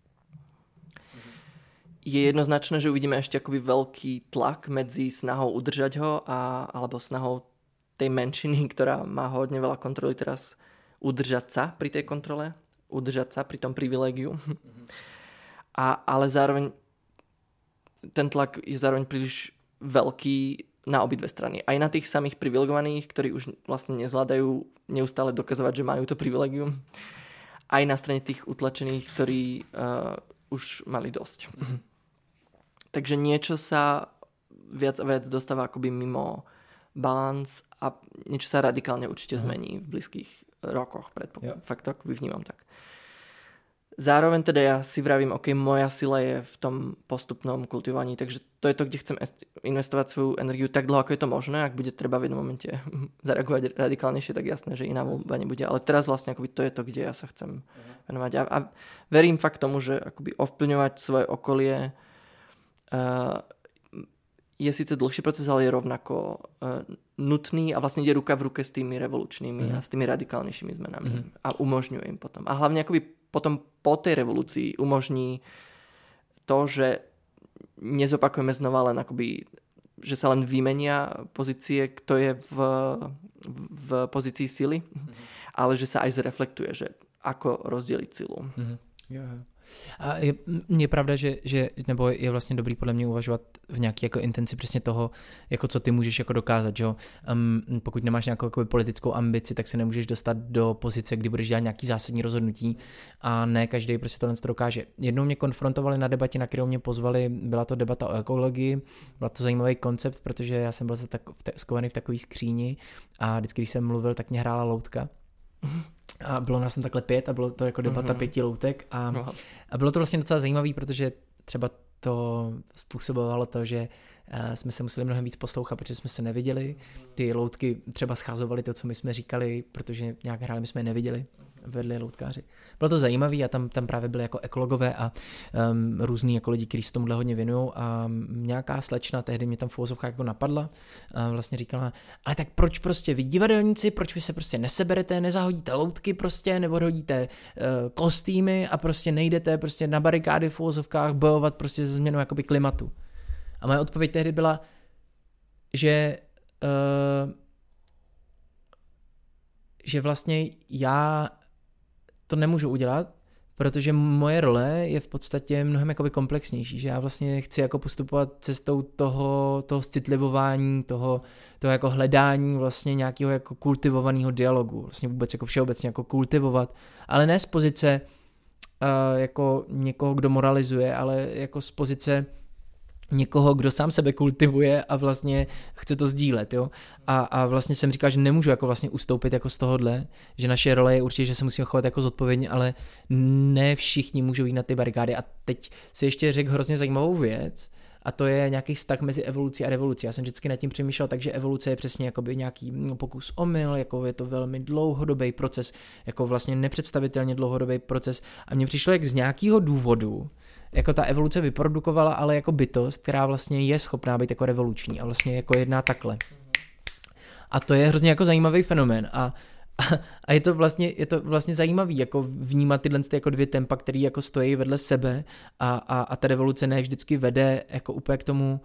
Je jednoznačné, že uvidíme ešte akoby veľký tlak medzi snahou udržať ho alebo snahou tej menšiny, ktorá má hodne veľa kontroly teraz, udržať sa pri tej kontrole, udržať sa pri tom privilégiu. Ale zároveň ten tlak je zároveň príliš veľký na obidve strany. Aj na tých samých privilegovaných, ktorí už vlastne nezvládajú neustále dokazovať, že majú to privilégium. Aj na strane tých utlačených, ktorí už mali dosť. Takže niečo sa viac a viac dostáva akoby mimo balans a niečo sa radikálne určite zmení v blízkych rokoch. Fakt to akoby vnímam tak. Zároveň teda ja si vravím, ok, moja sila je v tom postupnom kultivovaní, takže to je to, kde chcem investovať svoju energiu tak dlho, ako je to možné. Ak bude treba v jednom momente zareagovať radikálnejšie, tak jasné, že iná voľba nebude. Ale teraz vlastne akoby to je to, kde ja sa chcem venovať. A verím fakt tomu, že akoby ovplyvňovať svoje okolie je síce dlhší proces, ale je rovnako nutný a vlastne ide ruka v ruke s tými revolučnými a s tými radikálnejšími zmenami. A umožňuje im potom. A hlavne akoby potom po tej revolúcii umožní to, že nezopakujeme znova len akoby, že sa len vymenia pozície, kto je v pozícii sily, ale že sa aj zreflektuje, že ako rozdeliť silu. A je pravda, že nebo je vlastně dobrý podle mě uvažovat v nějaký jako intenci přesně toho, jako co ty můžeš jako dokázat, že jo? Pokud nemáš nějakou jako politickou ambici, tak se nemůžeš dostat do pozice, kdy budeš dělat nějaký zásadní rozhodnutí a ne každý prostě tohle to dokáže. Jednou mě konfrontovali na debatě, na kterou mě pozvali, byla to debata o ekologii, byla to zajímavý koncept, protože já jsem byl skovaný v takové skříni a vždycky, když jsem mluvil, tak mě hrála loutka. A bylo nás tam takhle 5 a bylo to jako debata 5 loutek a bylo to vlastně docela zajímavý, protože třeba to způsobovalo to, že jsme se museli mnohem víc poslouchat, protože jsme se neviděli. Ty loutky třeba schazovaly to, co my jsme říkali, protože nějak hráli, my jsme je neviděli, vedli loutkáři. Bylo to zajímavý a tam právě byly jako ekologové a různý jako lidi, kteří se tomuhle hodně věnují a nějaká slečna tehdy mě tam v uvozovkách jako napadla a vlastně říkala, ale tak proč prostě vy divadelníci, proč vy se prostě neseberete, nezahodíte loutky prostě, nebo hodíte kostýmy a prostě nejdete prostě na barikády v uvozovkách bojovat prostě se změnou jakoby klimatu. A moje odpověď tehdy byla, že vlastně já to nemůžu udělat, protože moje role je v podstatě mnohem jakoby komplexnější, že já vlastně chci jako postupovat cestou toho citlivování, toho jako hledání vlastně nějakého jako kultivovaného dialogu, vlastně vůbec jako všeobecně jako kultivovat, ale ne z pozice jako někoho, kdo moralizuje, ale jako z pozice někoho, kdo sám sebe kultivuje a vlastně chce to sdílet, jo. A vlastně jsem říkal, že nemůžu jako vlastně ustoupit jako z tohohle, že naše role je určitě, že se musíme chovat jako zodpovědně, ale ne všichni můžou jít na ty barikády. A teď si ještě řekl hrozně zajímavou věc, a to je nějaký vztah mezi evolucí a revolucí. Já jsem vždycky nad tím přemýšlel, takže evoluce je přesně jakoby nějaký pokus omyl, jako je to velmi dlouhodobý proces, jako vlastně nepředstavitelně dlouhodobý proces. A mně přišlo, jak z nějakého důvodu jako ta evoluce vyprodukovala ale jako bytost, která vlastně je schopná být jako revoluční a vlastně jako jedná takhle. A to je hrozně jako zajímavý fenomén a je to vlastně zajímavý jako vnímat tyhle jako dvě tempa, které jako stojí vedle sebe a ta revoluce ne vždycky vede jako úplně k tomu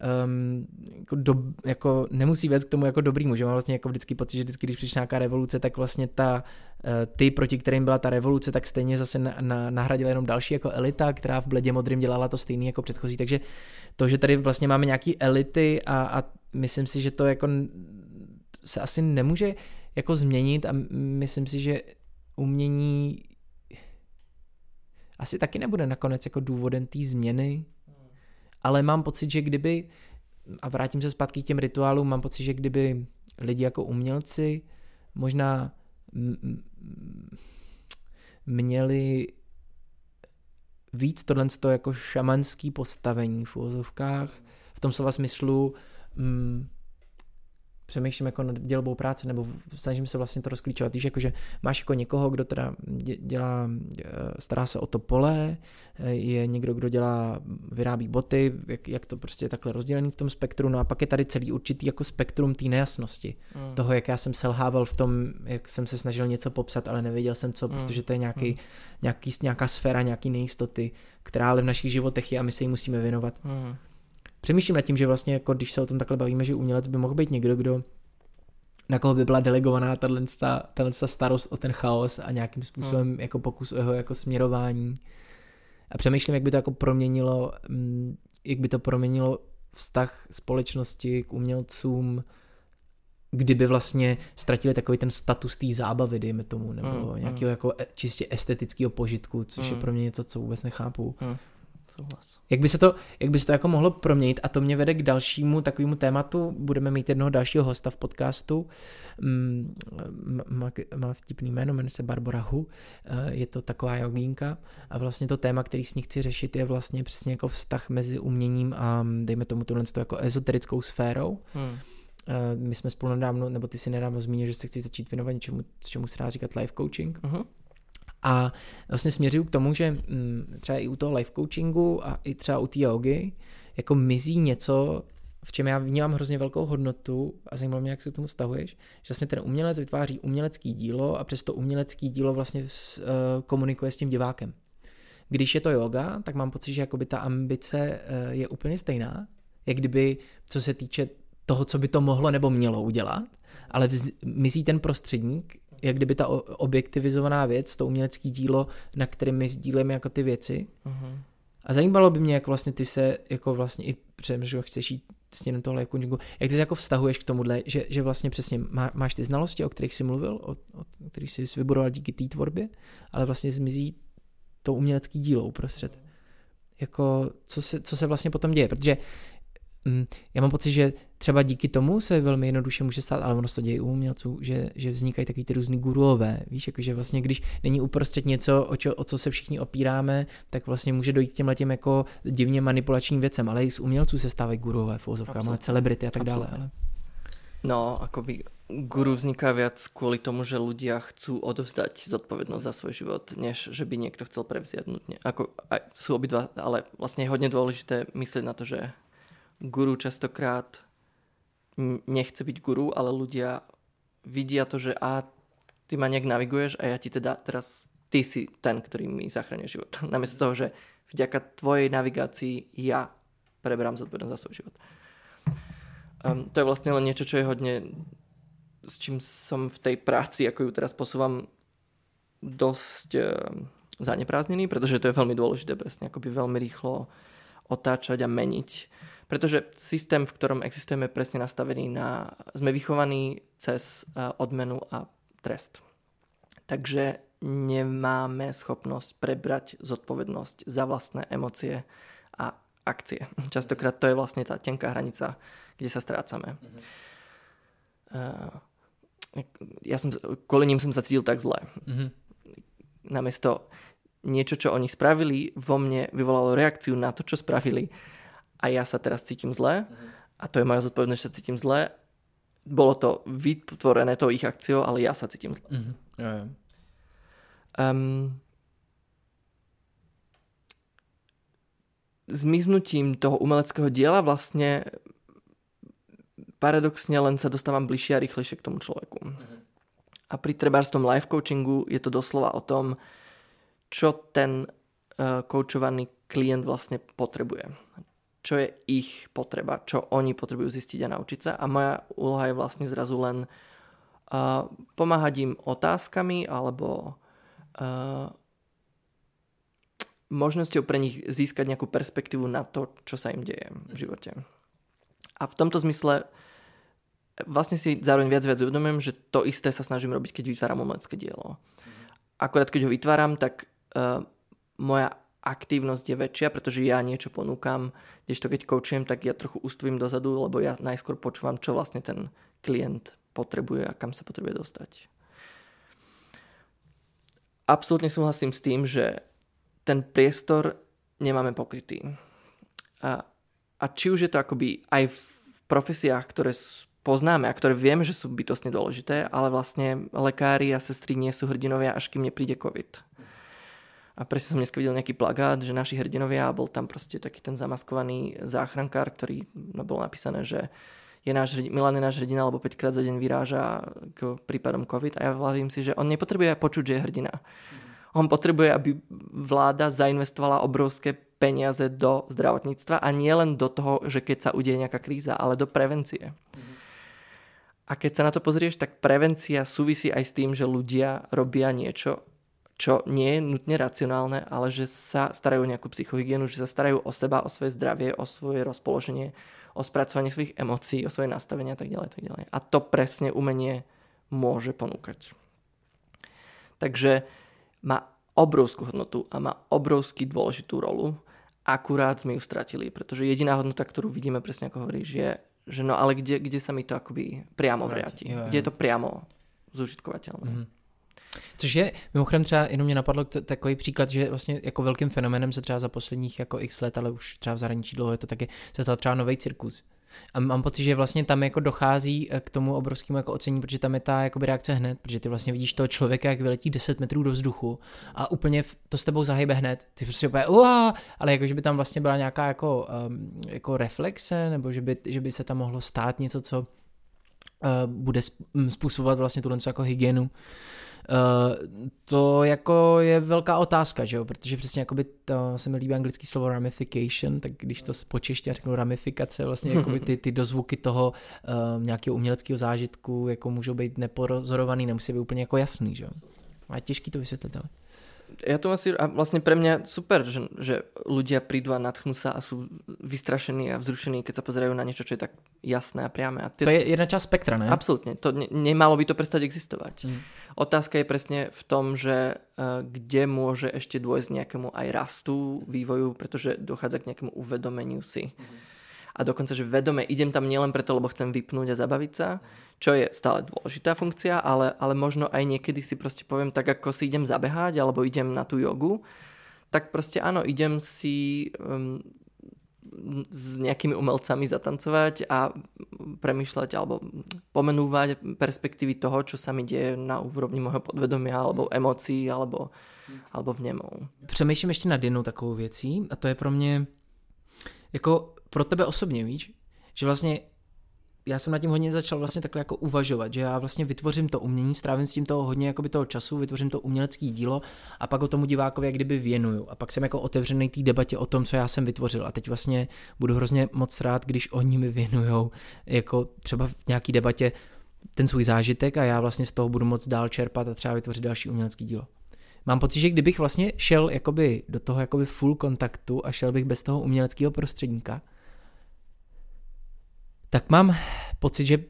jako nemusí vést k tomu jako dobrýmu, že mám vlastně jako vždycky pocit, že vždycky, když přišla nějaká revoluce, tak vlastně ty, proti kterým byla ta revoluce, tak stejně zase nahradila jenom další jako elita, která v bledě modrým dělala to stejný jako předchozí, takže to, že tady vlastně máme nějaký elity a myslím si, že to jako se asi nemůže jako změnit a myslím si, že umění asi taky nebude nakonec jako důvodem té změny, ale mám pocit, že kdyby, a vrátím se zpátky k těm rituálům, mám pocit, že kdyby lidi jako umělci možná měli víc tohle jako šamanský postavení v uvozovkách, v tom slova smyslu přemýšlím jako nad dělbou práce, nebo snažím se vlastně to rozklíčovat, víš, jakože máš jako někoho, kdo teda stará se o to pole, je někdo, kdo vyrábí boty, jak to prostě je takhle rozdělený v tom spektru, no a pak je tady celý určitý jako spektrum té nejasnosti, toho, jak já jsem selhával v tom, jak jsem se snažil něco popsat, ale nevěděl jsem co, protože to je nějaká sféra, nějaký nejistoty, která ale v našich životech je a my se jí musíme věnovat. Přemýšlím nad tím, že vlastně jako když se o tom takhle bavíme, že umělec by mohl být někdo, na koho by byla delegovaná tato starost o ten chaos a nějakým způsobem jako pokus o jeho jako směrování. A přemýšlím, jak by to proměnilo vztah společnosti k umělcům, kdyby vlastně ztratili takový ten status té zábavy, dejme tomu, nebo nějakého jako čistě estetického požitku, což je pro mě něco, co vůbec nechápu. Souhlas. Jak by se to jako mohlo proměnit, a to mě vede k dalšímu takovému tématu, budeme mít jednoho dalšího hosta v podcastu, má vtipný jméno, jmenuje se Barbara Hu, je to taková jogínka a vlastně to téma, který s ní chci řešit, je vlastně přesně jako vztah mezi uměním a dejme tomu tohle jako ezoterickou sférou. My jsme spolu nedávno, nebo ty si nedávno zmínil, že se chci začít věnovat něčemu, čemu se dá říkat life coaching. A vlastně směřuju k tomu, že třeba i u toho life coachingu a i třeba u té jogy jako mizí něco, v čem já vnímám hrozně velkou hodnotu a zajímalo mě, jak se k tomu vztahuješ, že vlastně ten umělec vytváří umělecký dílo a přes to umělecký dílo vlastně komunikuje s tím divákem. Když je to yoga, tak mám pocit, že jakoby ta ambice je úplně stejná, jak kdyby, co se týče toho, co by to mohlo nebo mělo udělat, ale mizí ten prostředník, jak kdyby ta objektivizovaná věc, to umělecké dílo, na kterém my sdílíme jako ty věci. A zajímalo by mě, jak vlastně ty se jako vlastně i přemýšlel, chceš jít stěnem tohle coachingu, jak ty se jako vztahuješ k tomuhle, že vlastně přesně máš ty znalosti, o kterých jsi mluvil, o kterých jsi vybudoval díky té tvorbě, ale vlastně zmizí to umělecké dílo uprostřed. Jako, co se vlastně potom děje, protože já mám pocit, že třeba díky tomu se velmi jednoduše může stát, ale ono se to děje u umělců, že vznikají takový ty různý guruové, víš, jakože vlastně když není uprostřed něco, o co se všichni opíráme, tak vlastně může dojít k těmhletěm jako divně manipulačním věcem, ale i z umělců se stávají guruové v uvozovkách, máme celebrity a tak dále. Ale... No, akoby guru vzniká viac kvôli tomu, že ľudia chcú odovzdať zodpovednosť za svoj život, než že by niekto chcel prevziať nutne. Ako, aj sú obidva, ale vlastne je hodne dôležité myslieť na to, že guru častokrát nechce byť guru, ale ľudia vidia to, že ty ma nejak naviguješ a ja ti teda teraz, ty si ten, ktorý mi zachraňuje život. Namiesto toho, že vďaka tvojej navigácii ja preberám zodpovednosť za svoj život. To je vlastne len niečo, čo je hodne, s čím som v tej práci, ako ju teraz posúvam, dosť zaneprázdnený, pretože to je veľmi dôležité presne, akoby veľmi rýchlo otáčať a meniť. Pretože systém, v ktorom existujeme, je presne nastavený sme vychovaní cez odmenu a trest. Takže nemáme schopnosť prebrať zodpovednosť za vlastné emócie a akcie. Častokrát to je vlastne tá tenká hranica, kde sa strácame. Kvôli ním som sa cítil tak zle. Namiesto niečo, čo oni spravili, vo mne vyvolalo reakciu na to, čo spravili. A ja sa teraz cítim zle. A to je moja zodpovednosť, že sa cítim zle. Bolo to vytvorené tou ich akciou, ale ja sa cítim zle. Zmiznutím toho umeleckého diela vlastne paradoxne len sa dostávam bližšie a rýchlejšie k tomu človeku. A pri trebárs tom life coachingu je to doslova o tom, čo ten koučovaný klient vlastne potrebuje. Čo je ich potreba, čo oni potrebujú zistiť a naučiť sa. A moja úloha je vlastne zrazu len pomáhať im otázkami alebo možnosťou pre nich získať nejakú perspektívu na to, čo sa im deje v živote. A v tomto zmysle vlastne si zároveň viac uvedomujem, že to isté sa snažím robiť, keď vytváram umelecké dielo. Akorát keď ho vytváram, tak moja aktívnosť je väčšia, pretože ja niečo ponúkam, kdežto keď koučujem, tak ja trochu ustúpim dozadu, lebo ja najskôr počúvam, čo vlastne ten klient potrebuje a kam sa potrebuje dostať. Absolútne súhlasím s tým, že ten priestor nemáme pokrytý. A či už je to akoby aj v profesiách, ktoré poznáme a ktoré vieme, že sú bytostne dôležité, ale vlastne lekári a sestry nie sú hrdinovia, až kým nepríde COVID. A presne som dneska videl nejaký plagát, že naši hrdinovia, bol tam proste taký ten zamaskovaný záchrankár, ktorý bolo napísané, že Milan je náš hrdina, lebo 5-krát za deň vyráža k prípadom COVID. A ja vravím si, že on nepotrebuje počuť, že je hrdina. On potrebuje, aby vláda zainvestovala obrovské peniaze do zdravotníctva a nie len do toho, že keď sa udeje nejaká kríza, ale do prevencie. A keď sa na to pozrieš, tak prevencia súvisí aj s tým, že ľudia robia niečo, čo nie je nutne racionálne, ale že sa starajú o nejakú psychohygienu, že sa starajú o seba, o svoje zdravie, o svoje rozpoloženie, o spracovanie svojich emócií, o svoje nastavenie a tak ďalej, tak ďalej. A to presne umenie môže ponúkať. Takže má obrovskú hodnotu a má obrovský dôležitú rolu akurát sme ju stratili, pretože jediná hodnota, ktorú vidíme, presne ako hovoríš, je, že no ale kde sa mi to akoby priamo vrátí. Kde je to priamo zužitkovateľné. Mm-hmm. Což je, mimochodem třeba jenom mě napadlo takový příklad, že vlastně jako velkým fenomenem se třeba za posledních jako x let, ale už třeba v zahraničí dlouho je to taky, se stal třeba nový cirkus. A mám pocit, že vlastně tam jako dochází k tomu obrovskému jako ocení, protože tam je ta jakoby reakce hned, protože ty vlastně vidíš toho člověka, jak vyletí 10 metrů do vzduchu a úplně to s tebou zahybe hned. Ty prostě úplně ale jako, že by tam vlastně byla nějaká jako reflexe, nebo že by se tam mohlo stát něco, co bude způsobovat vlastně tuhle jako hygienu. To jako je velká otázka, že jo, protože přesně jakoby to se mi líbí anglický slovo ramification, tak když to spočeště a řeknu ramifikace, vlastně jakoby ty dozvuky toho nějakého uměleckého zážitku jako můžou být nepozorovaný, nemusí být úplně jako jasný, že jo. A je těžký to vysvětlit, ale. Ja to myslím, a vlastne pre mňa super, že ľudia prídu a nadchnú sa a sú vystrašení a vzrušení, keď sa pozerajú na niečo, čo je tak jasné a priame. To je jedna časť spektra, ne? Absolútne. To nemalo by to prestať existovať. Otázka je presne v tom, že kde môže ešte dôjsť nejakému aj rastu, vývoju, pretože dochádza k nejakému uvedomeniu si. A dokonca, že vedome idem tam nielen preto, lebo chcem vypnúť a zabaviť sa, čo je stále dôležitá funkcia, ale možno aj niekedy si proste poviem, tak ako si idem zabehať alebo idem na tú jogu, tak proste áno, idem si s nejakými umelcami zatancovať a premýšľať alebo pomenúvať perspektívy toho, čo sa mi deje na úrovni môjho podvedomia alebo emócií alebo vnemov. Přemýšlím ještě nad jednou takovou věcí a to je pro mě jako pro tebe osobně, víš, že vlastně já jsem nad tím hodně začal vlastně takhle jako uvažovat, že já vlastně vytvořím to umění, strávím s tím toho hodně jakoby toho času, vytvořím to umělecké dílo a pak o tomu divákovi jak kdyby věnuju a pak jsem jako otevřený té debatě o tom, co já jsem vytvořil a teď vlastně budu hrozně moc rád, když oni mi věnujou jako třeba v nějaký debatě ten svůj zážitek a já vlastně z toho budu moc dál čerpat a třeba vytvořit další umělecké dílo. Mám pocit, že kdybych vlastně šel jakoby do toho jakoby full kontaktu a šel bych bez toho uměleckého prostředníka, tak mám pocit, že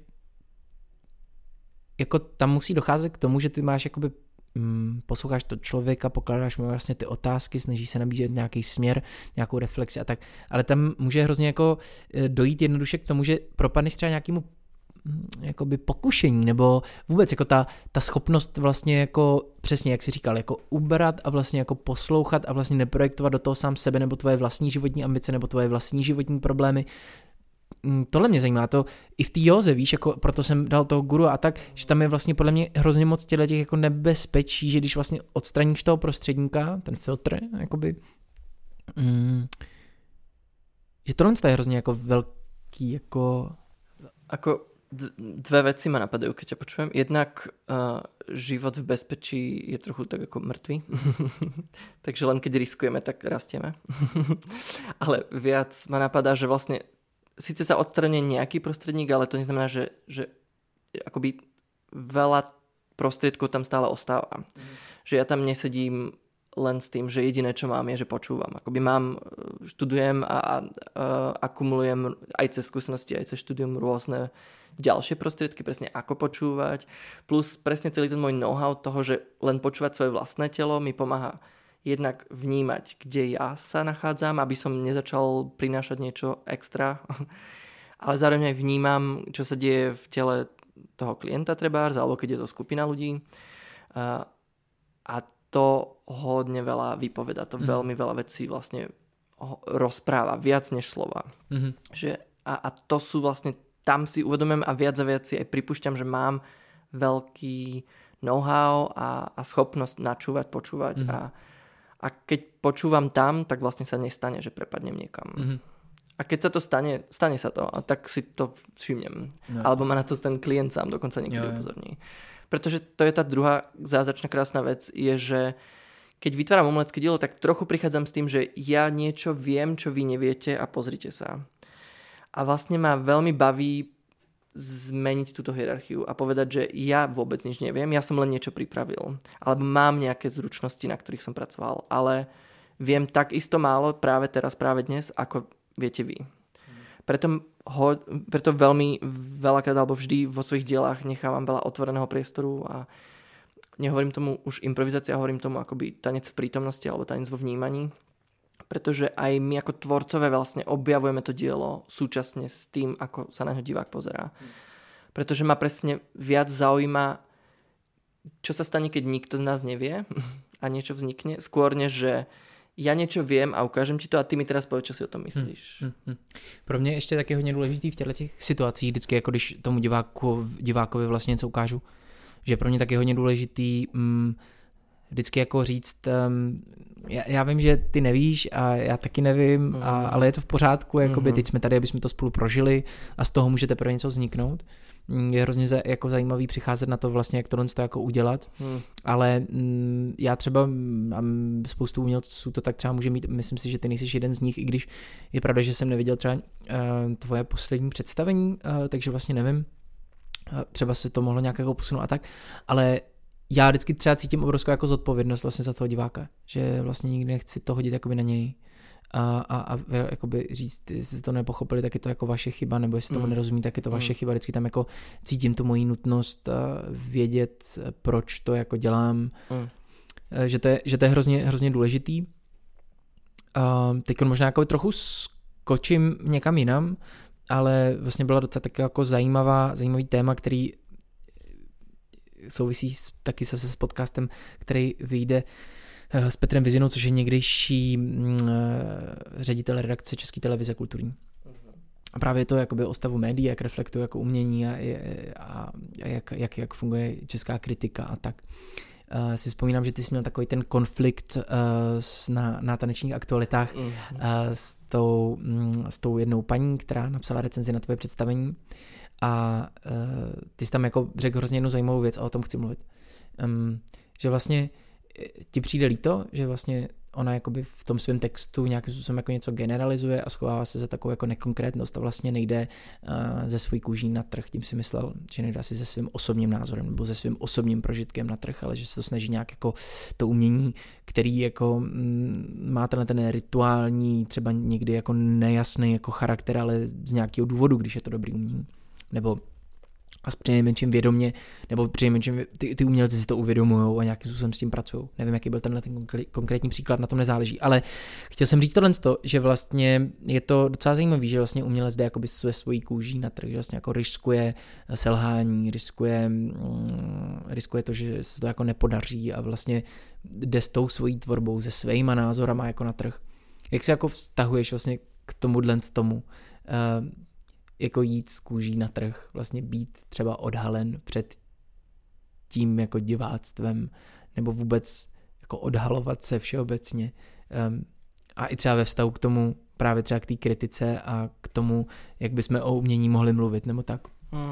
jako tam musí docházet k tomu, že ty máš jakoby posloucháš to člověka, pokládáš mu vlastně ty otázky, snažíš se nabízet nějaký směr, nějakou reflexi a tak, ale tam může hrozně jako dojít jednoduše k tomu, že propadneš třeba nějakému jakoby pokušení, nebo vůbec jako ta schopnost vlastně jako přesně jak jsi říkal, jako ubrat a vlastně jako poslouchat a vlastně neprojektovat do toho sám sebe nebo tvoje vlastní životní ambice nebo tvoje vlastní životní problémy. Tohle mě zajímá, to i v té józe, víš, jako proto jsem dal toho guru a tak, že těch je vlastně podle mě hrozně moc těch jako nebezpečí, že když vlastně odstraníš toho prostředníka, ten filtr, jakoby, že tohle je hrozně jako velký, jako... Ako dve veci ma napadajú, keď ťa počujem. Jednak život v bezpečí je trochu tak ako mŕtvý. Takže len keď riskujeme, tak rastieme. Ale viac ma napadá, že vlastne síce sa odstraní nejaký prostredník, ale to neznamená, že akoby veľa prostriedkov tam stále ostáva. Že ja tam nesedím len s tým, že jediné, čo mám, je, že počúvam. Akoby študujem a akumulujem aj cez skúsenosti, aj cez štúdium rôzne ďalšie prostriedky, presne ako počúvať. Plus presne celý ten môj know-how toho, že len počúvať svoje vlastné telo mi pomáha jednak vnímať, kde ja sa nachádzam, aby som nezačal prinášať niečo extra. Ale zároveň aj vnímam, čo sa deje v tele toho klienta trebárs, alebo keď je to skupina ľudí. A to hodne veľa vypoveda. To veľmi veľa vecí vlastne rozpráva, viac než slova. A to sú vlastne, tam si uvedomujem a viac si aj pripúšťam, že mám veľký know-how a schopnosť načúvať, počúvať. A keď počúvam tam, tak vlastne sa nestane, že prepadnem niekam. A keď sa to stane sa to, a tak si to všimnem. Alebo ma na to ten klient sám dokonca niekedy upozorní. Pretože to je tá druhá zázračná krásna vec, je, že keď vytváram umelecké dielo, tak trochu prichádzam s tým, že ja niečo viem, čo vy neviete a pozrite sa. A vlastne ma veľmi baví zmeniť túto hierarchiu a povedať, že ja vôbec nič neviem, ja som len niečo pripravil. Alebo mám nejaké zručnosti, na ktorých som pracoval, ale viem tak isto málo práve teraz, práve dnes, ako viete vy. Preto veľmi veľakrát alebo vždy vo svojich dielách nechávam veľa otvoreného priestoru a nehovorím tomu už improvizácia, hovorím tomu akoby tanec v prítomnosti alebo tanec vo vnímaní, pretože aj my ako tvorcové vlastne objavujeme to dielo súčasne s tým, ako sa na ňo divák pozerá. Pretože ma presne viac zaujíma, čo sa stane, keď nikto z nás nevie a niečo vznikne, skôr než, že já něco vím a ukážem ti to a ty mi teda povedz, co si o tom myslíš. Pro mě ještě taky hodně důležitý v těchto situacích, vždycky jako když tomu divákovi vlastně něco ukážu, že pro mě taky hodně důležitý vždycky jako říct, já vím, že ty nevíš a já taky nevím, ale je to v pořádku, jakoby teď jsme tady, aby jsme to spolu prožili a z toho může teprve něco vzniknout. Je hrozně jako zajímavý přicházet na to vlastně, jak tohle to jako udělat, ale já třeba a spoustu umělců to tak třeba může mít, myslím si, že ty nejsi jeden z nich, i když je pravda, že jsem neviděl třeba tvoje poslední představení, takže vlastně nevím, třeba se to mohlo nějak jako posunout a tak, ale já vždycky třeba cítím obrovskou jako zodpovědnost vlastně za toho diváka, že vlastně nikdy nechci to hodit jakoby na něj a jakoby říct, jestli to nepochopili, tak je to jako vaše chyba, nebo jestli tomu nerozumí, tak je to vaše chyba. Vždycky tam jako cítím tu moji nutnost vědět, proč to jako dělám, že to je hrozně důležitý. Teď možná jako trochu skočím někam jinam, ale vlastně byla docela tak jako zajímavý téma, který souvisí taky se s podcastem, který vyjde s Petrem Vizinou, což je někdejší ředitel redakce České televize kulturní. A právě to jakoby o stavu médií, jak reflektuje jako umění a jak funguje česká kritika a tak. Si vzpomínám, že ty jsi měl takový ten konflikt na tanečních aktualitách s tou jednou paní, která napsala recenzi na tvoje představení. A ty jsi tam jako řekl hrozně jednu zajímavou věc a o tom chci mluvit. Že vlastně ti přijde líto, že vlastně ona jakoby v tom svém textu nějakým způsobem jako něco generalizuje a schovává se za takovou jako nekonkrétnost a vlastně nejde ze svojí kůží na trh. Tím si myslel, že nejde asi se svým osobním názorem nebo se svým osobním prožitkem na trh, ale že se to snaží nějak jako to umění, který jako má ten rituální, třeba někdy jako nejasný jako charakter, ale z nějakého důvodu, když je to dobrý umění. Nebo a přinejmenším vědomě, nebo přinejmenším ty umělci si to uvědomujou a nějakým způsobem s tím pracují. Nevím, jaký byl ten konkrétní příklad, na tom nezáleží, ale chtěl jsem říct tohle, že vlastně je to docela zajímavý, že vlastně umělec jde jakoby své svojí kůží na trh, že vlastně jako riskuje selhání, riskuje to, že se to jako nepodaří a vlastně jde s tou svojí tvorbou, se svýma názorama jako na trh. Jak se jako vztahuješ vlastně k tomu, jako jít z kůží na trh, vlastně být třeba odhalen před tím jako diváctvem, nebo vůbec jako odhalovat se všeobecně. A i třeba ve vztahu k tomu, právě třeba k té kritice a k tomu, jak bychom o umění mohli mluvit, nebo tak.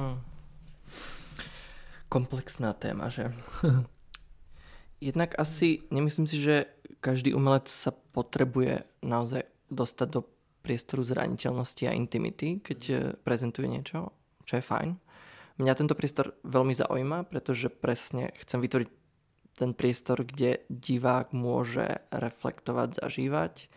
Komplexná téma, že? Jednak asi, nemyslím si, že každý umelec sa potrebuje naozaj dostať do priestoru zraniteľnosti a intimity, keď prezentuje niečo, čo je fajn. Mňa tento priestor veľmi zaujíma, pretože presne chcem vytvoriť ten priestor, kde divák môže reflektovať, zažívať.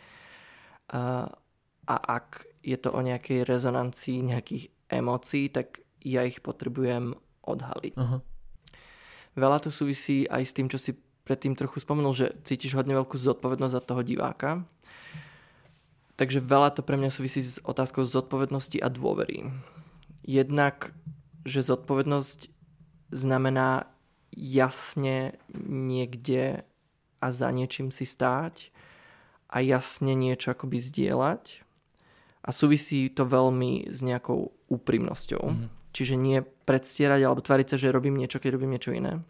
A ak je to o nejakej rezonancii, nejakých emócií, tak ja ich potrebujem odhaliť. Aha. Veľa to súvisí aj s tým, čo si predtým trochu spomenul, že cítiš hodne veľkú zodpovednosť za toho diváka. Takže veľa to pre mňa súvisí s otázkou zodpovednosti a dôvery. Jednak, že zodpovednosť znamená jasne niekde a za niečím si stáť a jasne niečo akoby zdieľať. A súvisí to veľmi s nejakou úprimnosťou. Čiže nie predstierať alebo tvariť sa, že robím niečo, keď robím niečo iné.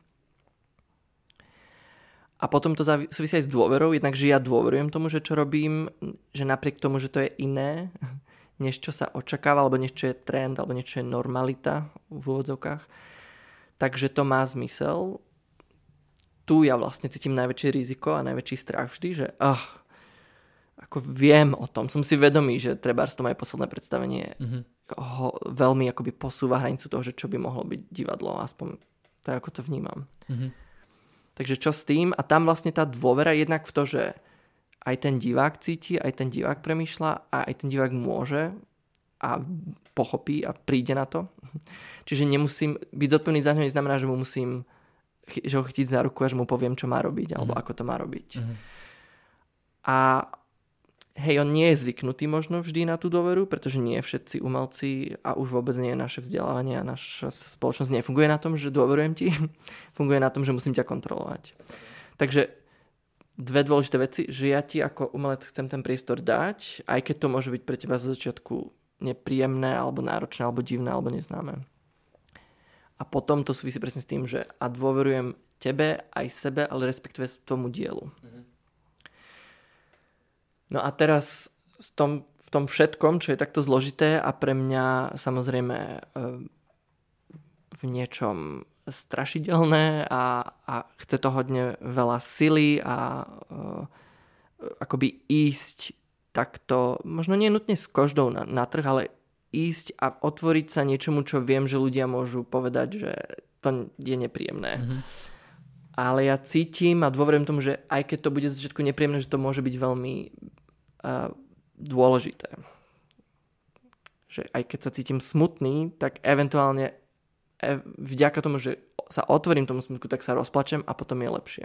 A potom to súvisí aj s dôverou, jednak, že ja dôverujem tomu, že čo robím, že napriek tomu, že to je iné, než čo sa očakáva, alebo než čo je trend, alebo niečo je normalita v úvodzovkách, takže to má zmysel. Tu ja vlastne cítim najväčšie riziko a najväčší strach vždy, že ako viem o tom, som si vedomý, že trebárs to moje posledné predstavenie ho veľmi akoby posúva hranicu toho, že čo by mohlo byť divadlo, aspoň tak ako to vnímam. Takže čo s tým? A tam vlastne tá dôvera jednak v to, že aj ten divák cíti, aj ten divák premýšľa a aj ten divák môže a pochopí a príde na to. Čiže nemusím byť zodpovedný za ňo, neznamená, že mu musím že ho chytiť za ruku a že mu poviem, čo má robiť alebo ako to má robiť. A hej, on nie je zvyknutý možno vždy na tú dôveru, pretože nie všetci umelci a už vôbec nie naše vzdelávanie a naša spoločnosť nefunguje na tom, že dôverujem ti, funguje na tom, že musím ťa kontrolovať. Takže dve dôležité veci, že ja ti ako umelec chcem ten priestor dať, aj keď to môže byť pre teba zo začiatku nepríjemné, alebo náročné, alebo divné, alebo neznáme. A potom to súvisí presne s tým, že a dôverujem tebe, aj sebe, ale respektíve tomu dielu. No a teraz v tom všetkom, čo je takto zložité a pre mňa samozrejme v niečom strašidelné a chce to hodne veľa sily a akoby ísť takto, možno nie nutne s koždou na trh, ale ísť a otvoriť sa niečomu, čo viem, že ľudia môžu povedať, že to je nepríjemné. Ale ja cítim a dôverujem tomu, že aj keď to bude z začiatku nepríjemné, že to môže byť veľmi dôležité. Že aj keď sa cítim smutný, tak eventuálne vďaka tomu, že sa otvorím tomu smutku, tak sa rozplačem a potom je lepšie.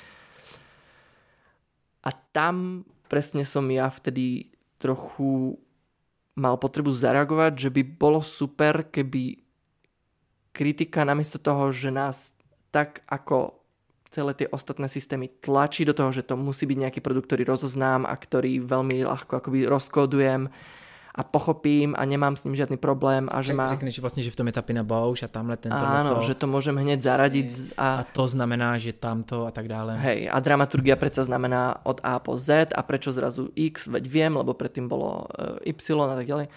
A tam presne som ja vtedy trochu mal potrebu zareagovať, že by bolo super, keby kritika namiesto toho, že nás tak ako celé tie ostatné systémy tlačí do toho, že to musí byť nejaký produkt, ktorý rozoznám a ktorý veľmi ľahko akoby rozkódujem a pochopím a nemám s ním žiadny problém. A že řekneš vlastně, že v tom je ta Pina Bausch a tamhle tento. Áno, že to môžem hneď zaradiť. A to znamená, že tamto a tak dále. Hej, a dramaturgia predsa znamená od A po Z a prečo zrazu X, veď viem, lebo predtým bolo Y a tak ďalej.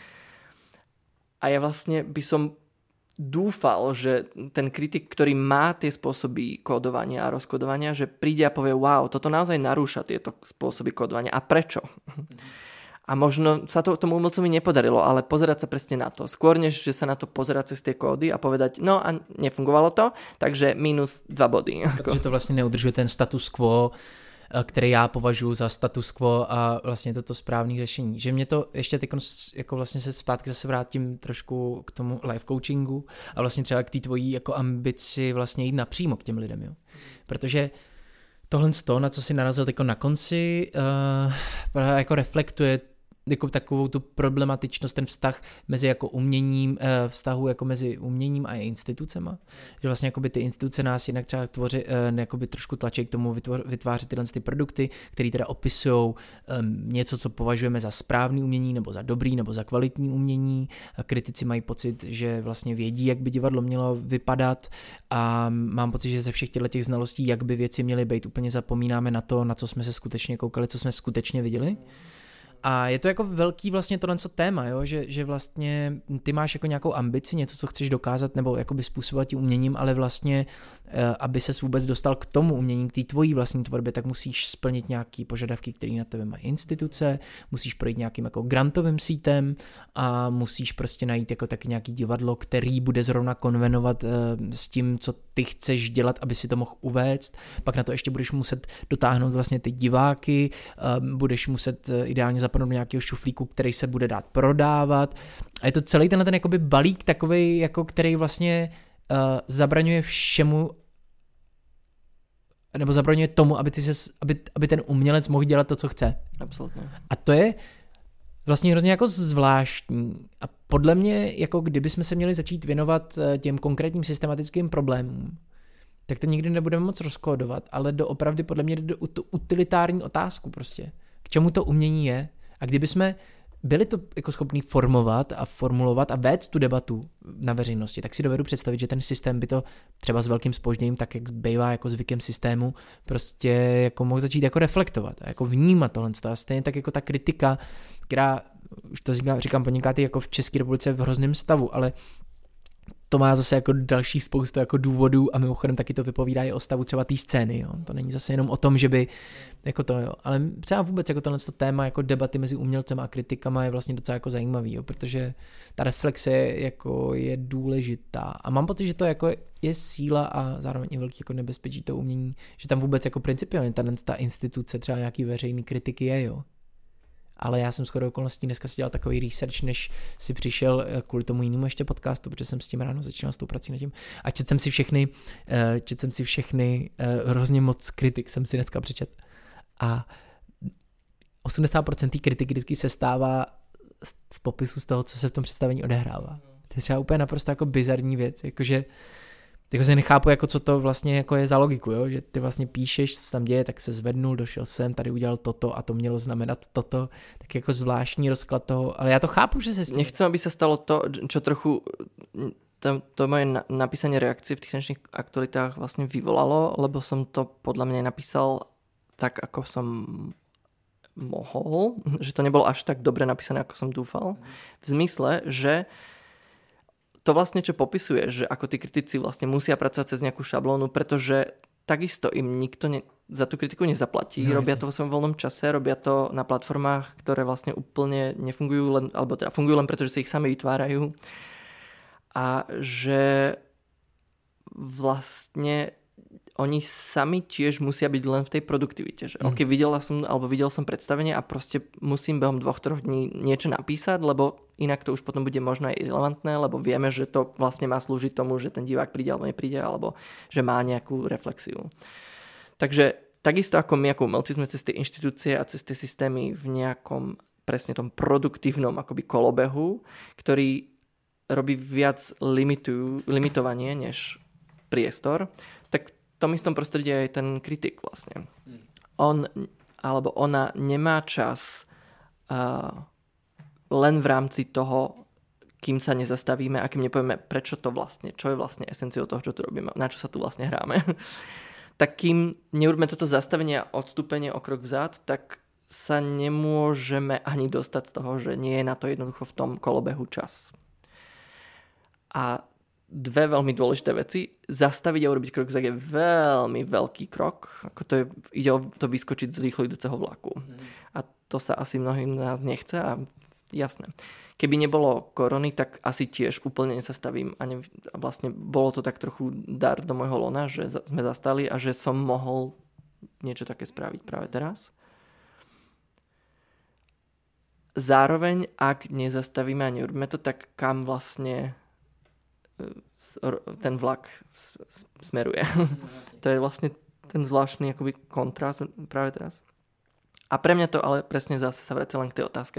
A ja vlastne by som dúfal, že ten kritik, ktorý má tie spôsoby kódovania a rozkodovania, že príde a povie, wow, toto naozaj narúša tieto spôsoby kódovania. A prečo? A možno sa to tomu umelcovi nepodarilo, ale pozerať sa presne na to. Skôr, než že sa na to pozerať cez tie kódy a povedať, no a nefungovalo to, takže minus 2 body. Protože to vlastně neudržuje ten status quo, který já považuji za status quo a vlastně toto správné řešení. Že mě to ještě teď jako vlastně se zpátky zase vrátím trošku k tomu life coachingu a vlastně třeba k té tvojí jako ambici vlastně jít napřímo k těm lidem, jo. Protože tohle na co si narazil teď na konci, jako reflektuje jako takovou tu problematičnost, ten vztah mezi jako uměním, vztahu jako mezi uměním a institucema. Že vlastně jakoby ty instituce nás jinak třeba tvoří, jakoby trošku tlačí k tomu vytvářet tyhle ty produkty, které teda opisují něco, co považujeme za správný umění, nebo za dobrý, nebo za kvalitní umění. A kritici mají pocit, že vlastně vědí, jak by divadlo mělo vypadat a mám pocit, že ze všech těch znalostí, jak by věci měly být, úplně zapomínáme na to, na co jsme se skutečně koukali, co jsme skutečně viděli. A je to jako velký vlastně tohle téma, jo? Že vlastně ty máš jako nějakou ambici, něco, co chceš dokázat nebo jakoby způsobovat tím uměním, ale vlastně, aby ses vůbec dostal k tomu umění, k té tvojí vlastní tvorbě, tak musíš splnit nějaký požadavky, které na tebe mají instituce, musíš projít nějakým jako grantovým sítem a musíš prostě najít jako taky nějaký divadlo, který bude zrovna konvenovat s tím, co ty chceš dělat, aby si to mohl uvést. Pak na to ještě budeš muset dotáhnout vlastně ty diváky, budeš muset ideálně zapadnout do nějakého šuflíku, který se bude dát prodávat. A je to celý ten jakoby balík takovej, jako který vlastně zabraňuje všemu nebo zabraňuje tomu, aby ten umělec mohl dělat to, co chce. Absolutně. A to je vlastně hrozně jako zvláštní. A podle mě, jako kdybychom se měli začít věnovat těm konkrétním systematickým problémům, tak to nikdy nebudeme moc rozkódovat, ale doopravdy podle mě jde o tu utilitární otázku prostě. K čemu to umění je? A kdyby jsme byli to jako schopní formovat a formulovat a vést tu debatu na veřejnosti, tak si dovedu představit, že ten systém by to třeba s velkým zpožděním, tak jak bývá jako zvykem systému, prostě jako mohl začít jako reflektovat a jako vnímat tohle. A stejně tak jako ta kritika, která, už to říkám poněkud, jako v České republice v hrozném stavu, ale to má zase jako další spoustu jako důvodů a mimochodem taky to vypovídá i o stavu třeba té scény, jo. To není zase jenom o tom, že by jako to, jo, ale třeba vůbec jako tohle téma jako debaty mezi umělcem a kritikama je vlastně docela jako zajímavý, jo, protože ta reflexe jako je důležitá a mám pocit, že to jako je síla a zároveň i velký jako nebezpečí to umění, že tam vůbec jako principiálně ta instituce třeba nějaký veřejný kritiky je, jo. Ale já jsem shodou okolností dneska si dělal takový research, než si přišel kvůli tomu jinému ještě podcastu, protože jsem s tím ráno začínal s tou prací nad tím. A četl jsem si všechny, hrozně moc kritik jsem si dneska přečet. A 80% té kritiky vždycky se stává z popisu z toho, co se v tom představení odehrává. To je třeba úplně naprosto jako bizarní věc, jakože jako se nechápu, jako co to vlastně jako je za logiku, jo? Že ty vlastně píšeš, co se tam děje, tak se zvednul, došel sem, tady udělal toto a to mělo znamenat toto, tak jako zvláštní rozklad toho, ale já to chápu, že se s tím... Nechcem, aby sa stalo to, čo trochu to moje napísanie reakcie v tých finančných aktualitách vlastne vyvolalo, lebo som to podľa mňa napísal tak, ako som mohol, že to nebolo až tak dobre napísané, ako som dúfal. V zmysle, že to vlastne, čo popisuje, že ako tí kritici vlastne musia pracovať cez nejakú šablónu, pretože takisto im nikto za tú kritiku nezaplatí. No, robia to vo svojom voľnom čase, robia to na platformách, ktoré vlastne úplne nefungujú, alebo teda fungujú len preto, že si ich sami vytvárajú. A že vlastne oni sami tiež musia byť len v tej produktivite. Že ok, videl som predstavenie a proste musím behom 2-3 dní niečo napísať, lebo inak to už potom bude možno aj irrelevantné, lebo vieme, že to vlastne má slúžiť tomu, že ten divák príde alebo nepríde, alebo že má nejakú reflexiu. Takže takisto ako my, ako umelci, sme cez tie inštitúcie a cez tie systémy v nejakom presne tom produktívnom akoby kolobehu, ktorý robí viac limitovanie než priestor, tak v tom istom prostredí je aj ten kritik vlastne. On alebo ona nemá čas len v rámci toho, kým sa nezastavíme a kým nepovieme, prečo to vlastne, čo je vlastne esenciou toho, čo tu robíme, na čo sa tu vlastne hráme. Tak kým neurobíme toto zastavenie a odstúpenie o krok vzad, tak sa nemôžeme ani dostať z toho, že nie je na to jednoducho v tom kolobehu čas. A dve veľmi dôležité veci. Zastaviť a urobiť krok vzad je veľmi veľký krok. Ako to je, ide o to vyskočiť z rýchlo idúceho vlaku. A to sa asi mnohým z nás nechce a jasné. Keby nebolo korony, tak asi tiež úplne nezastavím. A vlastne bolo to tak trochu dar do môjho lona, že sme zastali a že som mohol niečo také spraviť práve teraz. Zároveň, ak nezastavíme a neurobíme to, tak kam vlastne ten vlak smeruje. To je vlastne ten zvláštny akoby kontrast práve teraz. A pre mňa to ale presne zase sa vracia len k tej otázke.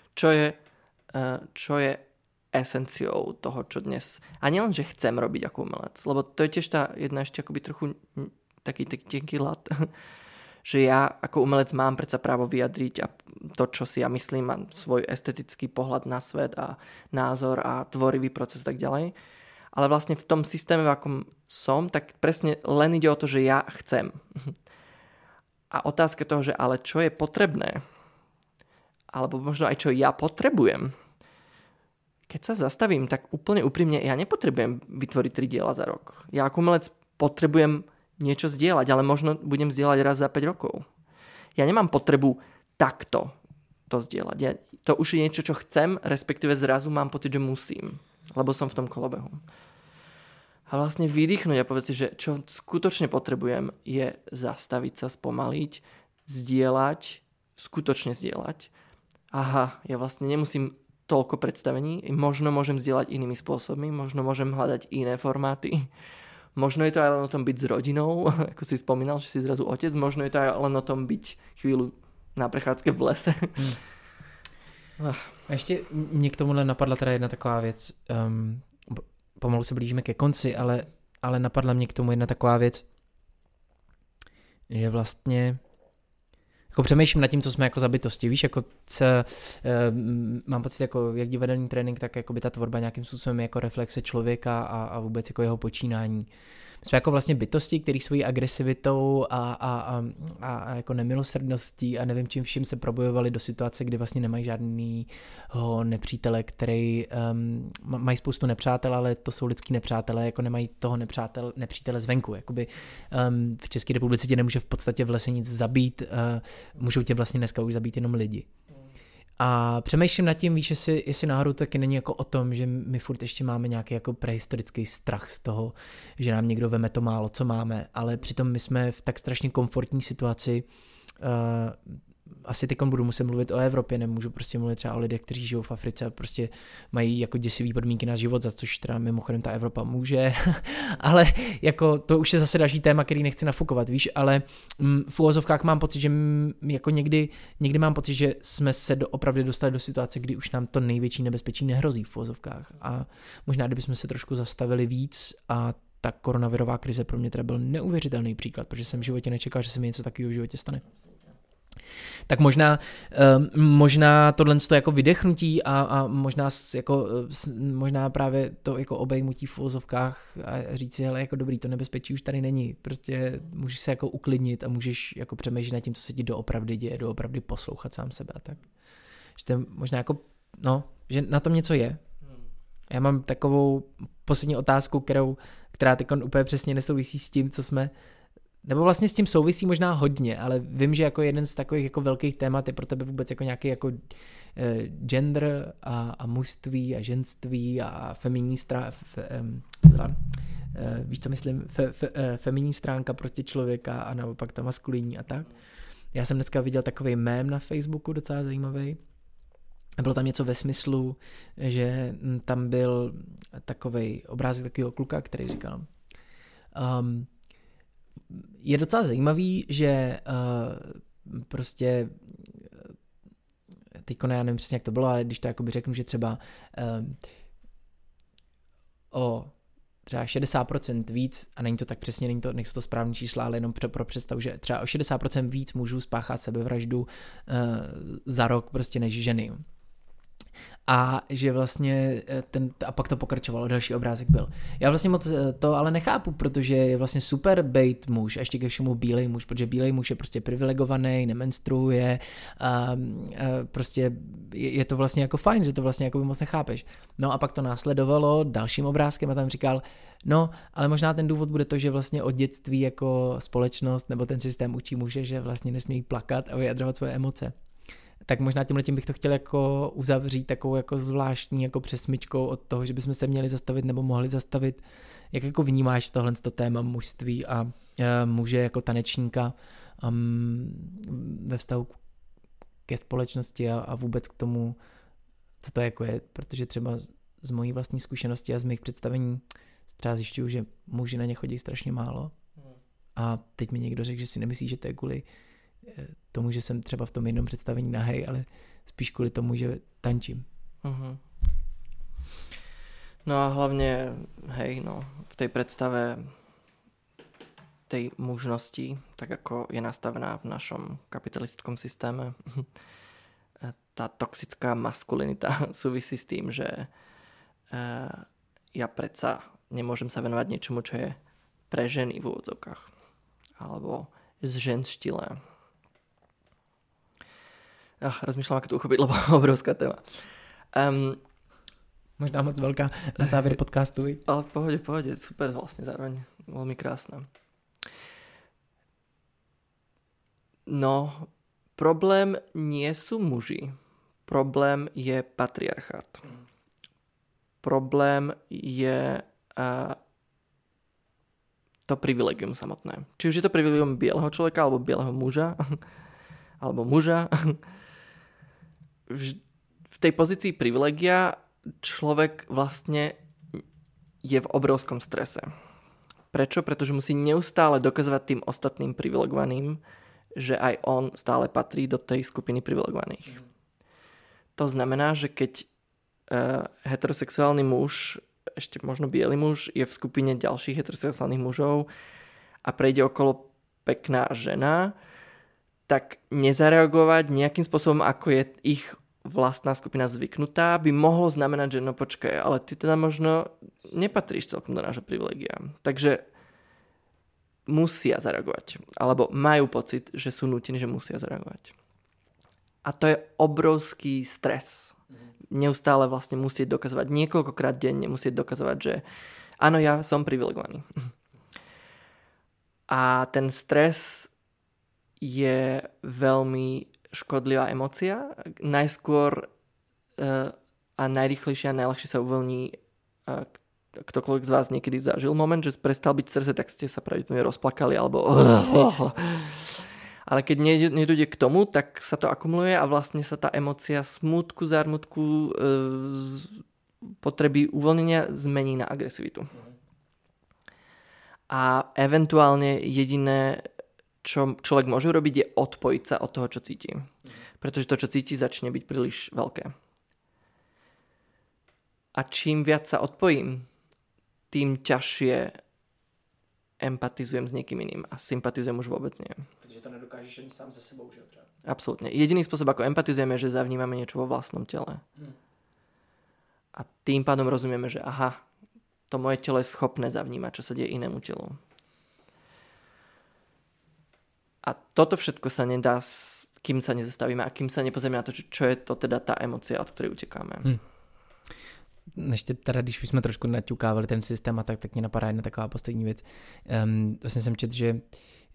Čo je esenciou toho, čo dnes... A nielen, že chcem robiť ako umelec, lebo to je tiež tá jedna ešte akoby trochu taký tenký ľad, že ja ako umelec mám predsa právo vyjadriť a to, čo si ja myslím a svoj estetický pohľad na svet a názor a tvorivý proces tak ďalej. Ale vlastne v tom systéme, v akom som, tak presne len ide o to, že ja chcem. A otázka toho, že ale čo je potrebné, alebo možno aj čo ja potrebujem. Keď sa zastavím, tak úplne úprimne, ja nepotrebujem vytvoriť 3 diela za rok. Ja ako umelec potrebujem niečo zdieľať, ale možno budem zdieľať raz za 5 rokov. Ja nemám potrebu takto to zdieľať. To už je niečo, čo chcem, respektíve zrazu mám pocit, že musím, lebo som v tom kolobehu. A vlastne vydýchnuť a povedať si, že čo skutočne potrebujem je zastaviť sa, spomaliť, zdieľať, skutočne zdieľať. Aha, ja vlastne nemusím toľko predstavení, možno môžem zdieľať inými spôsobmi, možno môžem hľadať iné formáty. Možno je to aj len o tom byť s rodinou, ako si spomínal, že si zrazu otec, možno je to aj len o tom byť chvíľu na prechádzke v lese. A ještě mě k tomuhle napadla teda jedna taková věc, pomalu se blížíme ke konci, ale napadla mě k tomu jedna taková věc, že vlastně jako přemýšlím nad tím, co jsme jako za bytosti, víš, jako mám pocit, jako jak divadelní trénink, tak jako by ta tvorba nějakým způsobem jako reflexe člověka a vůbec jako jeho počínání. Jsme jako vlastně bytosti, který svojí agresivitou a jako nemilosrdností a nevím čím vším se probojovali do situace, kdy vlastně nemají žádnýho nepřítele, který mají spoustu nepřátel, ale to jsou lidský nepřátelé, jako nemají toho nepřítele zvenku. Jakoby, v České republice tě nemůže v podstatě v lese nic zabít, můžou tě vlastně dneska už zabít jenom lidi. A přemýšlím nad tím, víš, jestli náhodou taky není jako o tom, že my furt ještě máme nějaký jako prehistorický strach z toho, že nám někdo veme to málo, co máme, ale přitom my jsme v tak strašně komfortní situaci asi teď budu muset mluvit o Evropě, nemůžu prostě mluvit třeba o lidech, kteří žijou v Africe a prostě mají jako děsivý podmínky na život, za což teda mimochodem ta Evropa může, ale jako to už je zase další téma, který nechci nafukovat, víš, ale v uvozovkách mám pocit, že jako někdy mám pocit, že jsme se opravdu dostali do situace, kdy už nám to největší nebezpečí nehrozí v uvozovkách a možná kdybychom se trošku zastavili víc a ta koronavirová krize pro mě teda byl neuvěřitelný příklad, protože jsem v životě nečekal, že se mi něco takového v životě stane. Tak možná tohle jako vydechnutí a možná právě to jako obejmutí v uvozovkách a říct si, hele, jako dobrý, to nebezpečí už tady není. Prostě můžeš se jako uklidnit a můžeš jako přemýšlet nad tím, co se ti doopravdy děje, doopravdy poslouchat sám sebe a tak. Že to je možná jako, že na tom něco je. Já mám takovou poslední otázku, která teď úplně přesně nesouvisí s tím, co jsme, nebo vlastně s tím souvisí možná hodně, ale vím, že jako jeden z takových jako velkých témat je pro tebe vůbec jako nějaký jako gender a mužství a ženství a feminní víš, co myslím, feminní stránka prostě člověka a naopak ta maskulinní a tak. Já jsem dneska viděl takový mém na Facebooku, docela zajímavý. Bylo tam něco ve smyslu, že tam byl takovej obrázek takového kluka, který říkal, je docela zajímavý, že prostě teďko já nevím přesně, jak to bylo, ale když to jakoby řeknu, že třeba o třeba 60% víc, a není to tak přesně, nejsou to správný čísla, ale jenom pro představu, že třeba o 60% víc mužů spáchat sebevraždu za rok prostě než ženy. A že vlastně a pak to pokračovalo, další obrázek byl. Já vlastně moc to ale nechápu, protože je vlastně super bejt muž, a ještě ke všemu bílej muž, protože bílej muž je prostě privilegovaný, nemenstruuje, prostě je to vlastně jako fajn, že to vlastně jako by moc nechápeš. No a pak to následovalo dalším obrázkem a tam říkal, ale možná ten důvod bude to, že vlastně od dětství jako společnost nebo ten systém učí muže, že vlastně nesmí plakat a vyjadřovat svoje emoce. Tak možná tímhletím bych to chtěl jako uzavřít takovou jako zvláštní jako přesmyčkou od toho, že bychom se měli zastavit nebo mohli zastavit. Jak jako vnímáš tohle téma mužství a muže jako tanečníka ve vztahu ke společnosti a vůbec k tomu, co to jako je, protože třeba z mojí vlastní zkušenosti a z mých představení třeba zjišťuju, že muži na ně chodí strašně málo a teď mi někdo řekl, že si nemyslí, že to je kvůli tomu, že jsem třeba v tom jednom představení nahej, ale spíš kvůli tomu, že tančím. Uh-huh. No a hlavne, v tej predstave tej mužnosti, tak ako je nastavená v našom kapitalistickom systéme, tá toxická maskulinita súvisí s tým, že ja predsa nemôžem sa venovať niečomu, čo je pre ženy v úvodzovkách. Alebo zženštilé. Rozmýšľam, ako to uchopiť, lebo obrovská téma. Možná moc veľká na záver podcastu. Ale v pohode, super vlastne zároveň. Veľmi krásne. No, problém nie sú muži. Problém je patriarchát. Problém je to privilegium samotné. Či už je to privilegium bieleho človeka, alebo bieleho muža, alebo muža. V tej pozícii privilegia človek vlastne je v obrovskom strese. Prečo? Pretože musí neustále dokazovať tým ostatným privilegovaným, že aj on stále patrí do tej skupiny privilegovaných. To znamená, že keď heterosexuálny muž, ešte možno biely muž, je v skupine ďalších heterosexuálnych mužov a prejde okolo pekná žena, tak nezareagovať nejakým spôsobom, ako je ich vlastná skupina zvyknutá, by mohlo znamenať, že no počkaj, ale ty teda možno nepatríš celkom do nášho privilegia. Takže musia zareagovať. Alebo majú pocit, že sú nútení, že musia zareagovať. A to je obrovský stres. Neustále vlastne musieť dokazovať, niekoľkokrát denne musieť dokazovať, že áno, ja som privilegovaný. A ten stres je veľmi škodlivá emócia. Najskôr a najrýchlejšie a najľahšie sa uvoľní, ktokoľvek z vás niekedy zažil moment, že prestal byť v strese, tak ste sa pravdepodobne rozplakali alebo Ale keď nedojde k tomu, tak sa to akumuluje a vlastne sa tá emócia smútku, zármutku, potreby uvoľnenia zmení na agresivitu. A eventuálne jediné, čo človek môže robiť, je odpojiť sa od toho, čo cíti. Pretože to, čo cíti, začne byť príliš veľké. A čím viac sa odpojím, tým ťažšie empatizujem s niekým iným a sympatizujem už vôbec nie. Protože to nedokážeš ani sám ze sebou, že třeba. Absolútne. Jediný spôsob, ako empatizujeme, je, že zavnímame niečo vo vlastnom tele. A tým pádom rozumieme, že aha, to moje telo je schopné zavnímať, čo sa deje inému telu. A toto všetko sa nedá, kým sa nezastavíme a kým sa nepozrieme na to, čo je to teda tá emócia, od ktorej utekáme. Ještě teda, když už jsme trošku naťukávali ten systém a tak mě napadá jedna taková poslední věc. Vlastně jsem četl, že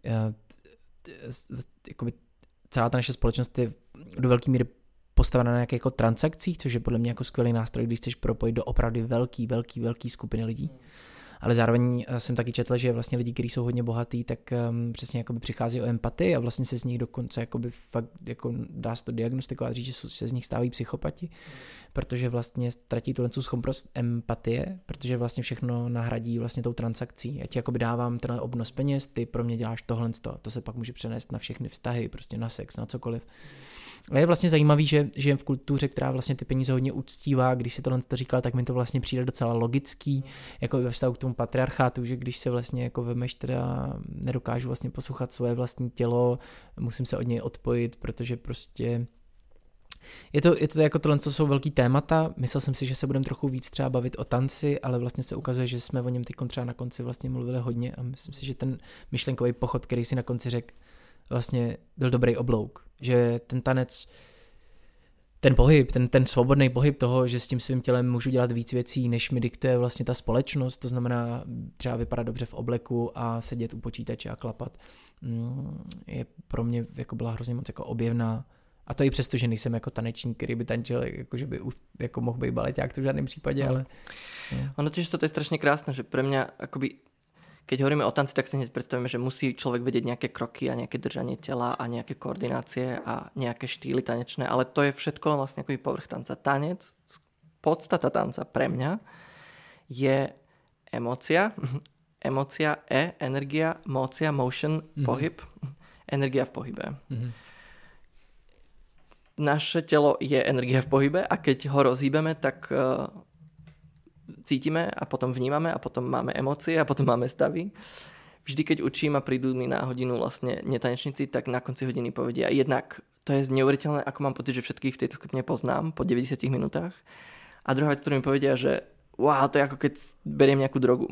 jakoby celá ta naše společnost je do velké míry postavena na nějakých jako transakcích, což je podle mě jako skvělý nástroj, když chceš propojit do opravdu velký skupiny lidí. Ale zároveň jsem taky četl, že vlastně lidi, kteří jsou hodně bohatý, tak přesně jakoby přichází o empatii a vlastně se z nich dokonce jakoby fakt jako dá se to diagnostikovat, říct, že se z nich stávají psychopati, protože vlastně ztratí tu schopnost empatie, protože vlastně všechno nahradí vlastně tou transakcí. Já ti jakoby dávám tenhle obnos peněz, ty pro mě děláš tohle, to se pak může přenést na všechny vztahy, prostě na sex, na cokoliv. A je vlastně zajímavý, že žijem v kultuře, která vlastně ty peníze hodně uctívá. Když si tohle říkal, tak mi to vlastně přijde docela logický, jako ve vztahu k tomu patriarchátu, že když se vlastně jako vemeš, teda nedokážu vlastně poslouchat svoje vlastní tělo, musím se od něj odpojit, protože prostě je to jako tohle, co jsou velký témata. Myslel jsem si, že se budeme trochu víc třeba bavit o tanci, ale vlastně se ukazuje, že jsme o něm teď třeba na konci vlastně mluvili hodně a myslím si, že ten myšlenkový pochod, který si na konci řekl, vlastně byl dobrý oblouk, že ten tanec, ten pohyb, ten svobodný pohyb toho, že s tím svým tělem můžu dělat víc věcí, než mi diktuje vlastně ta společnost, to znamená třeba vypadat dobře v obleku a sedět u počítače a klapat, je pro mě jako byla hrozně moc jako objevná. A to i přesto, že nejsem jako tanečník, který by tančil, jako že by jako mohl být baleťák, to v žádném případě, ale... No. Ono tiež to je strašne krásne, že pre mňa akoby keď hovoríme o tanci, tak si hneď predstavíme, že musí človek vedieť nejaké kroky a nejaké držanie tela a nejaké koordinácie a nejaké štýly tanečné, ale to je všetko len vlastne akoby povrch tanca. Tanec, podstata tanca pre mňa je emócia, energia, mócia, motion, pohyb, energia v pohybe. Naše telo je energia v pohybe a keď ho rozhýbeme, tak cítime a potom vnímame a potom máme emócie a potom máme stavy. Vždy, keď učím a prídu mi na hodinu vlastne netanečníci, tak na konci hodiny povedia jednak to je neuveriteľné, ako mám pocit, že všetkých v tejto skupine poznám po 90 minútach. A druhá vec, ktorú mi povedia, že wow, to je ako keď beriem nejakú drogu.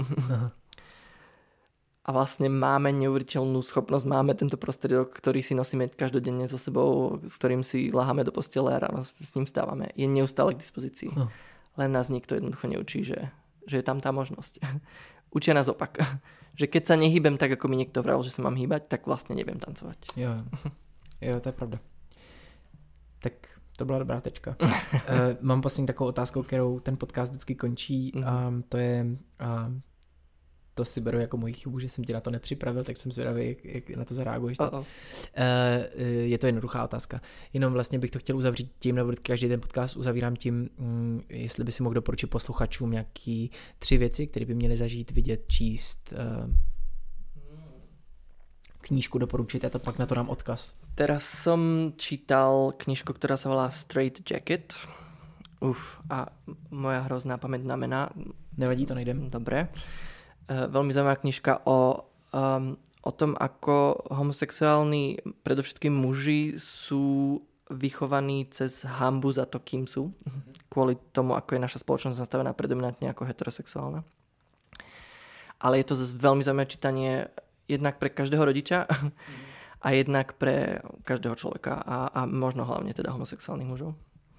A vlastne máme neuveriteľnú schopnosť, máme tento prostriedok, ktorý si nosíme každodenne so sebou, s ktorým si laháme do postele a ráno s ním vstávame. Je neustále k dispozícii. Len nás nikto jednoducho neučí, že je tam tá možnosť. Učia nás opak. Že keď sa nehýbem tak, ako mi niekto vral, že sa mám hýbať, tak vlastne neviem tancovať. Jo, to je pravda. Tak to byla dobrá tečka. Mám poslední takovou otázku, kterou ten podcast vždycky končí. To je... To si beru jako moji chybu, že jsem ti na to nepřipravil, tak jsem zvědavý, jak na to zareaguješ. Je to jednoduchá otázka. Jenom vlastně bych to chtěl uzavřít tím, nebo každý ten podcast uzavírám tím, jestli by si mohl doporučit posluchačům nějaký 3 věci, které by měli zažít, vidět, číst, knížku doporučit, a to pak na to dám odkaz. Teraz som čítal knižku, ktorá sa volá Straight Jacket. A moja hrozná pamäť na mená. Nevadí, to nejdem. Dobre. Veľmi zaujímavá knižka o tom, ako homosexuálni, predovšetkým muži, sú vychovaní cez hanbu za to, kým sú. Kvôli tomu, ako je naša spoločnosť nastavená predominantne ako heterosexuálna. Ale je to zase veľmi zaujímavé čítanie jednak pre každého rodiča a jednak pre každého človeka a možno hlavne teda homosexuálnych mužov.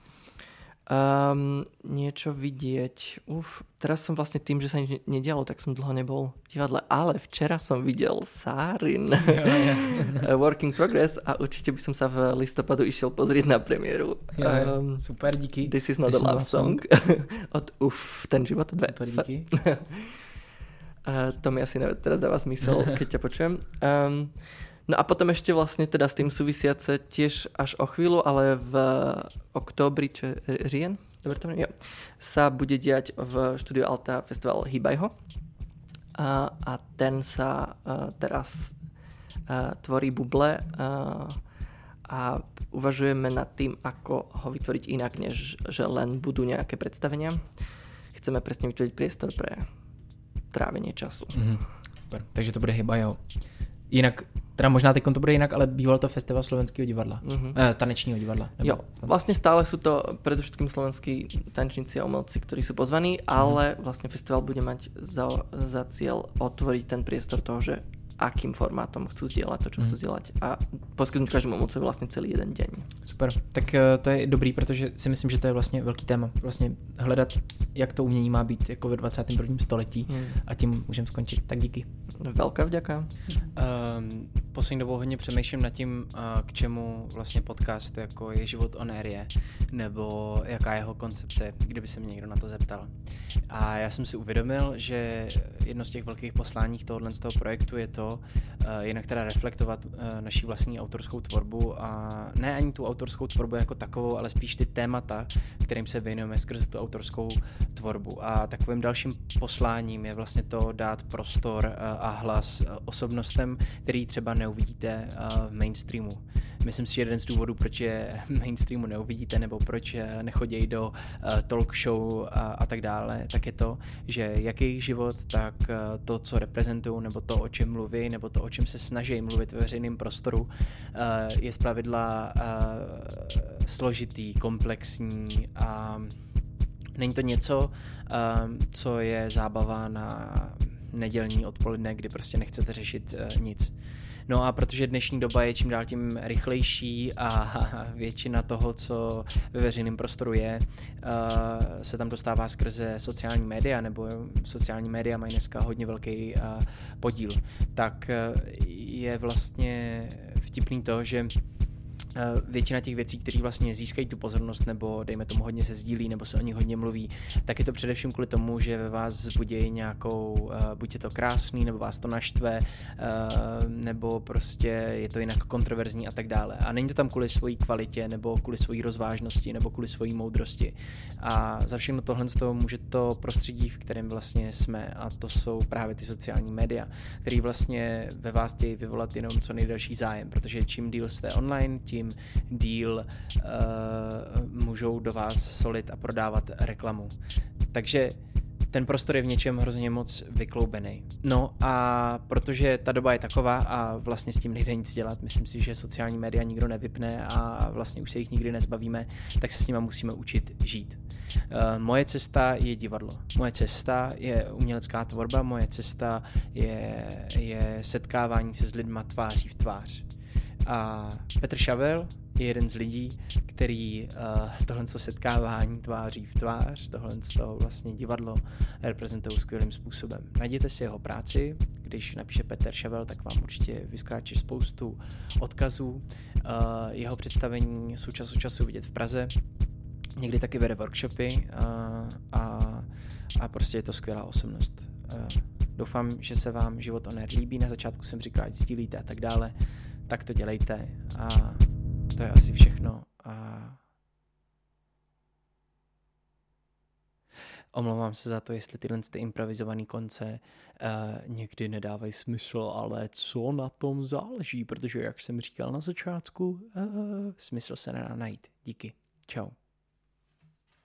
Niečo vidieť. Teraz som vlastne tým, že sa nič nedialo, tak som dlho nebol v divadle, ale včera som videl Sárin Work in Progress a určite by som sa v listopadu išiel pozrieť na premiéru. Super, díky. This is not a love song. Od ten život. Super, díky. To mi asi teraz dáva zmysel, keď ťa počujem. No a potom ešte vlastne teda s tým súvisiace tiež až o chvíľu, ale v októbri, čo je říjen, dobre to jo, sa bude diať v štúdiu Alta festival Hýbaj ho. A ten sa teraz tvorí buble a uvažujeme nad tým, ako ho vytvoriť inak, než že len budú nejaké predstavenia. Chceme presne vytvoriť priestor pre trávenie času. Super. Takže to bude Hýbaj ho. Jinak, teda možná teď to bude jinak, ale býval to festival slovenského divadla, tanečního divadla. Jo, vlastne stále sú to predovšetkým slovenskí tanečníci a umelci, ktorí sú pozvaní, ale vlastne festival bude mať za cieľ otvoriť ten priestor toho, že akým formátom chcú zdieľať to, čo chcú zdieľať a poskytnúť každému umelcovi vlastne celý jeden deň. Super, tak to je dobrý, protože si myslím, že to je vlastně velký téma. Vlastně hledat, jak to umění má být jako ve 21. století a tím můžeme skončit. Tak díky. Velká vďaka. Poslední dobou hodně přemýšlím nad tím, k čemu vlastně podcast jako je Život on Air je, nebo jaká je jeho koncepce, kdyby se mě někdo na to zeptal. A já jsem si uvědomil, že jedno z těch velkých poslání tohohle z toho projektu je to, jinak teda reflektovat naši vlastní autorskou tvorbu a ne ani tu autorskou tvorbu jako takovou, ale spíš ty témata, kterým se věnujeme skrze tu autorskou tvorbu. A takovým dalším posláním je vlastně to dát prostor a hlas osobnostem, který třeba neuvidíte v mainstreamu. Myslím si, že jeden z důvodů, proč je mainstreamu neuvidíte, nebo proč nechodějí do talk show a tak dále, tak je to, že jak jejich život, tak to, co reprezentují, nebo to, o čem mluví, nebo to, o čem se snaží mluvit ve veřejném prostoru, je zpravidla složitý, komplexní a není to něco, co je zábava na nedělní odpoledne, kdy prostě nechcete řešit nic. No a protože dnešní doba je čím dál tím rychlejší a většina toho, co ve veřejném prostoru je, se tam dostává skrze sociální média, nebo sociální média mají dneska hodně velký podíl, tak je vlastně vtipný to, že většina těch věcí, které vlastně získají tu pozornost, nebo dejme tomu hodně se sdílí, nebo se o nich hodně mluví, tak je to především kvůli tomu, že ve vás vzbudí nějakou, buď je to krásný, nebo vás to naštve, nebo prostě je to jinak kontroverzní a tak dále. A není to tam kvůli svojí kvalitě, nebo kvůli svojí rozvážnosti, nebo kvůli svojí moudrosti. A za všechno tohle z toho může to prostředí, v kterém vlastně jsme, a to jsou právě ty sociální média, které vlastně ve vás chtějí vyvolat jenom co nejdelší zájem, protože čím díl jste online, tím díl můžou do vás solit a prodávat reklamu. Takže ten prostor je v něčem hrozně moc vykloubený. No a protože ta doba je taková a vlastně s tím nejde nic dělat, myslím si, že sociální média nikdo nevypne a vlastně už se jich nikdy nezbavíme, tak se s nima musíme učit žít. Moje cesta je divadlo. Moje cesta je umělecká tvorba, moje cesta je setkávání se s lidma tváří v tvář. A Petr Šavel je jeden z lidí, který tohle setkávání tváří v tvář, tohle vlastně divadlo reprezentují skvělým způsobem. Najděte si jeho práci, když napíše Petr Šavel, tak vám určitě vyskáče spoustu odkazů. Jeho představení jsou čas od času vidět v Praze, někdy taky vede workshopy a prostě je to skvělá osobnost. Doufám, že se vám Život on Air líbí, na začátku jsem říkal, ať sdílíte a tak dále, tak to dělejte a to je asi všechno. A omlouvám se za to, jestli tyhle improvizované konce někdy nedávají smysl, ale co na tom záleží, protože jak jsem říkal na začátku, smysl se nedá najít. Díky. Čau.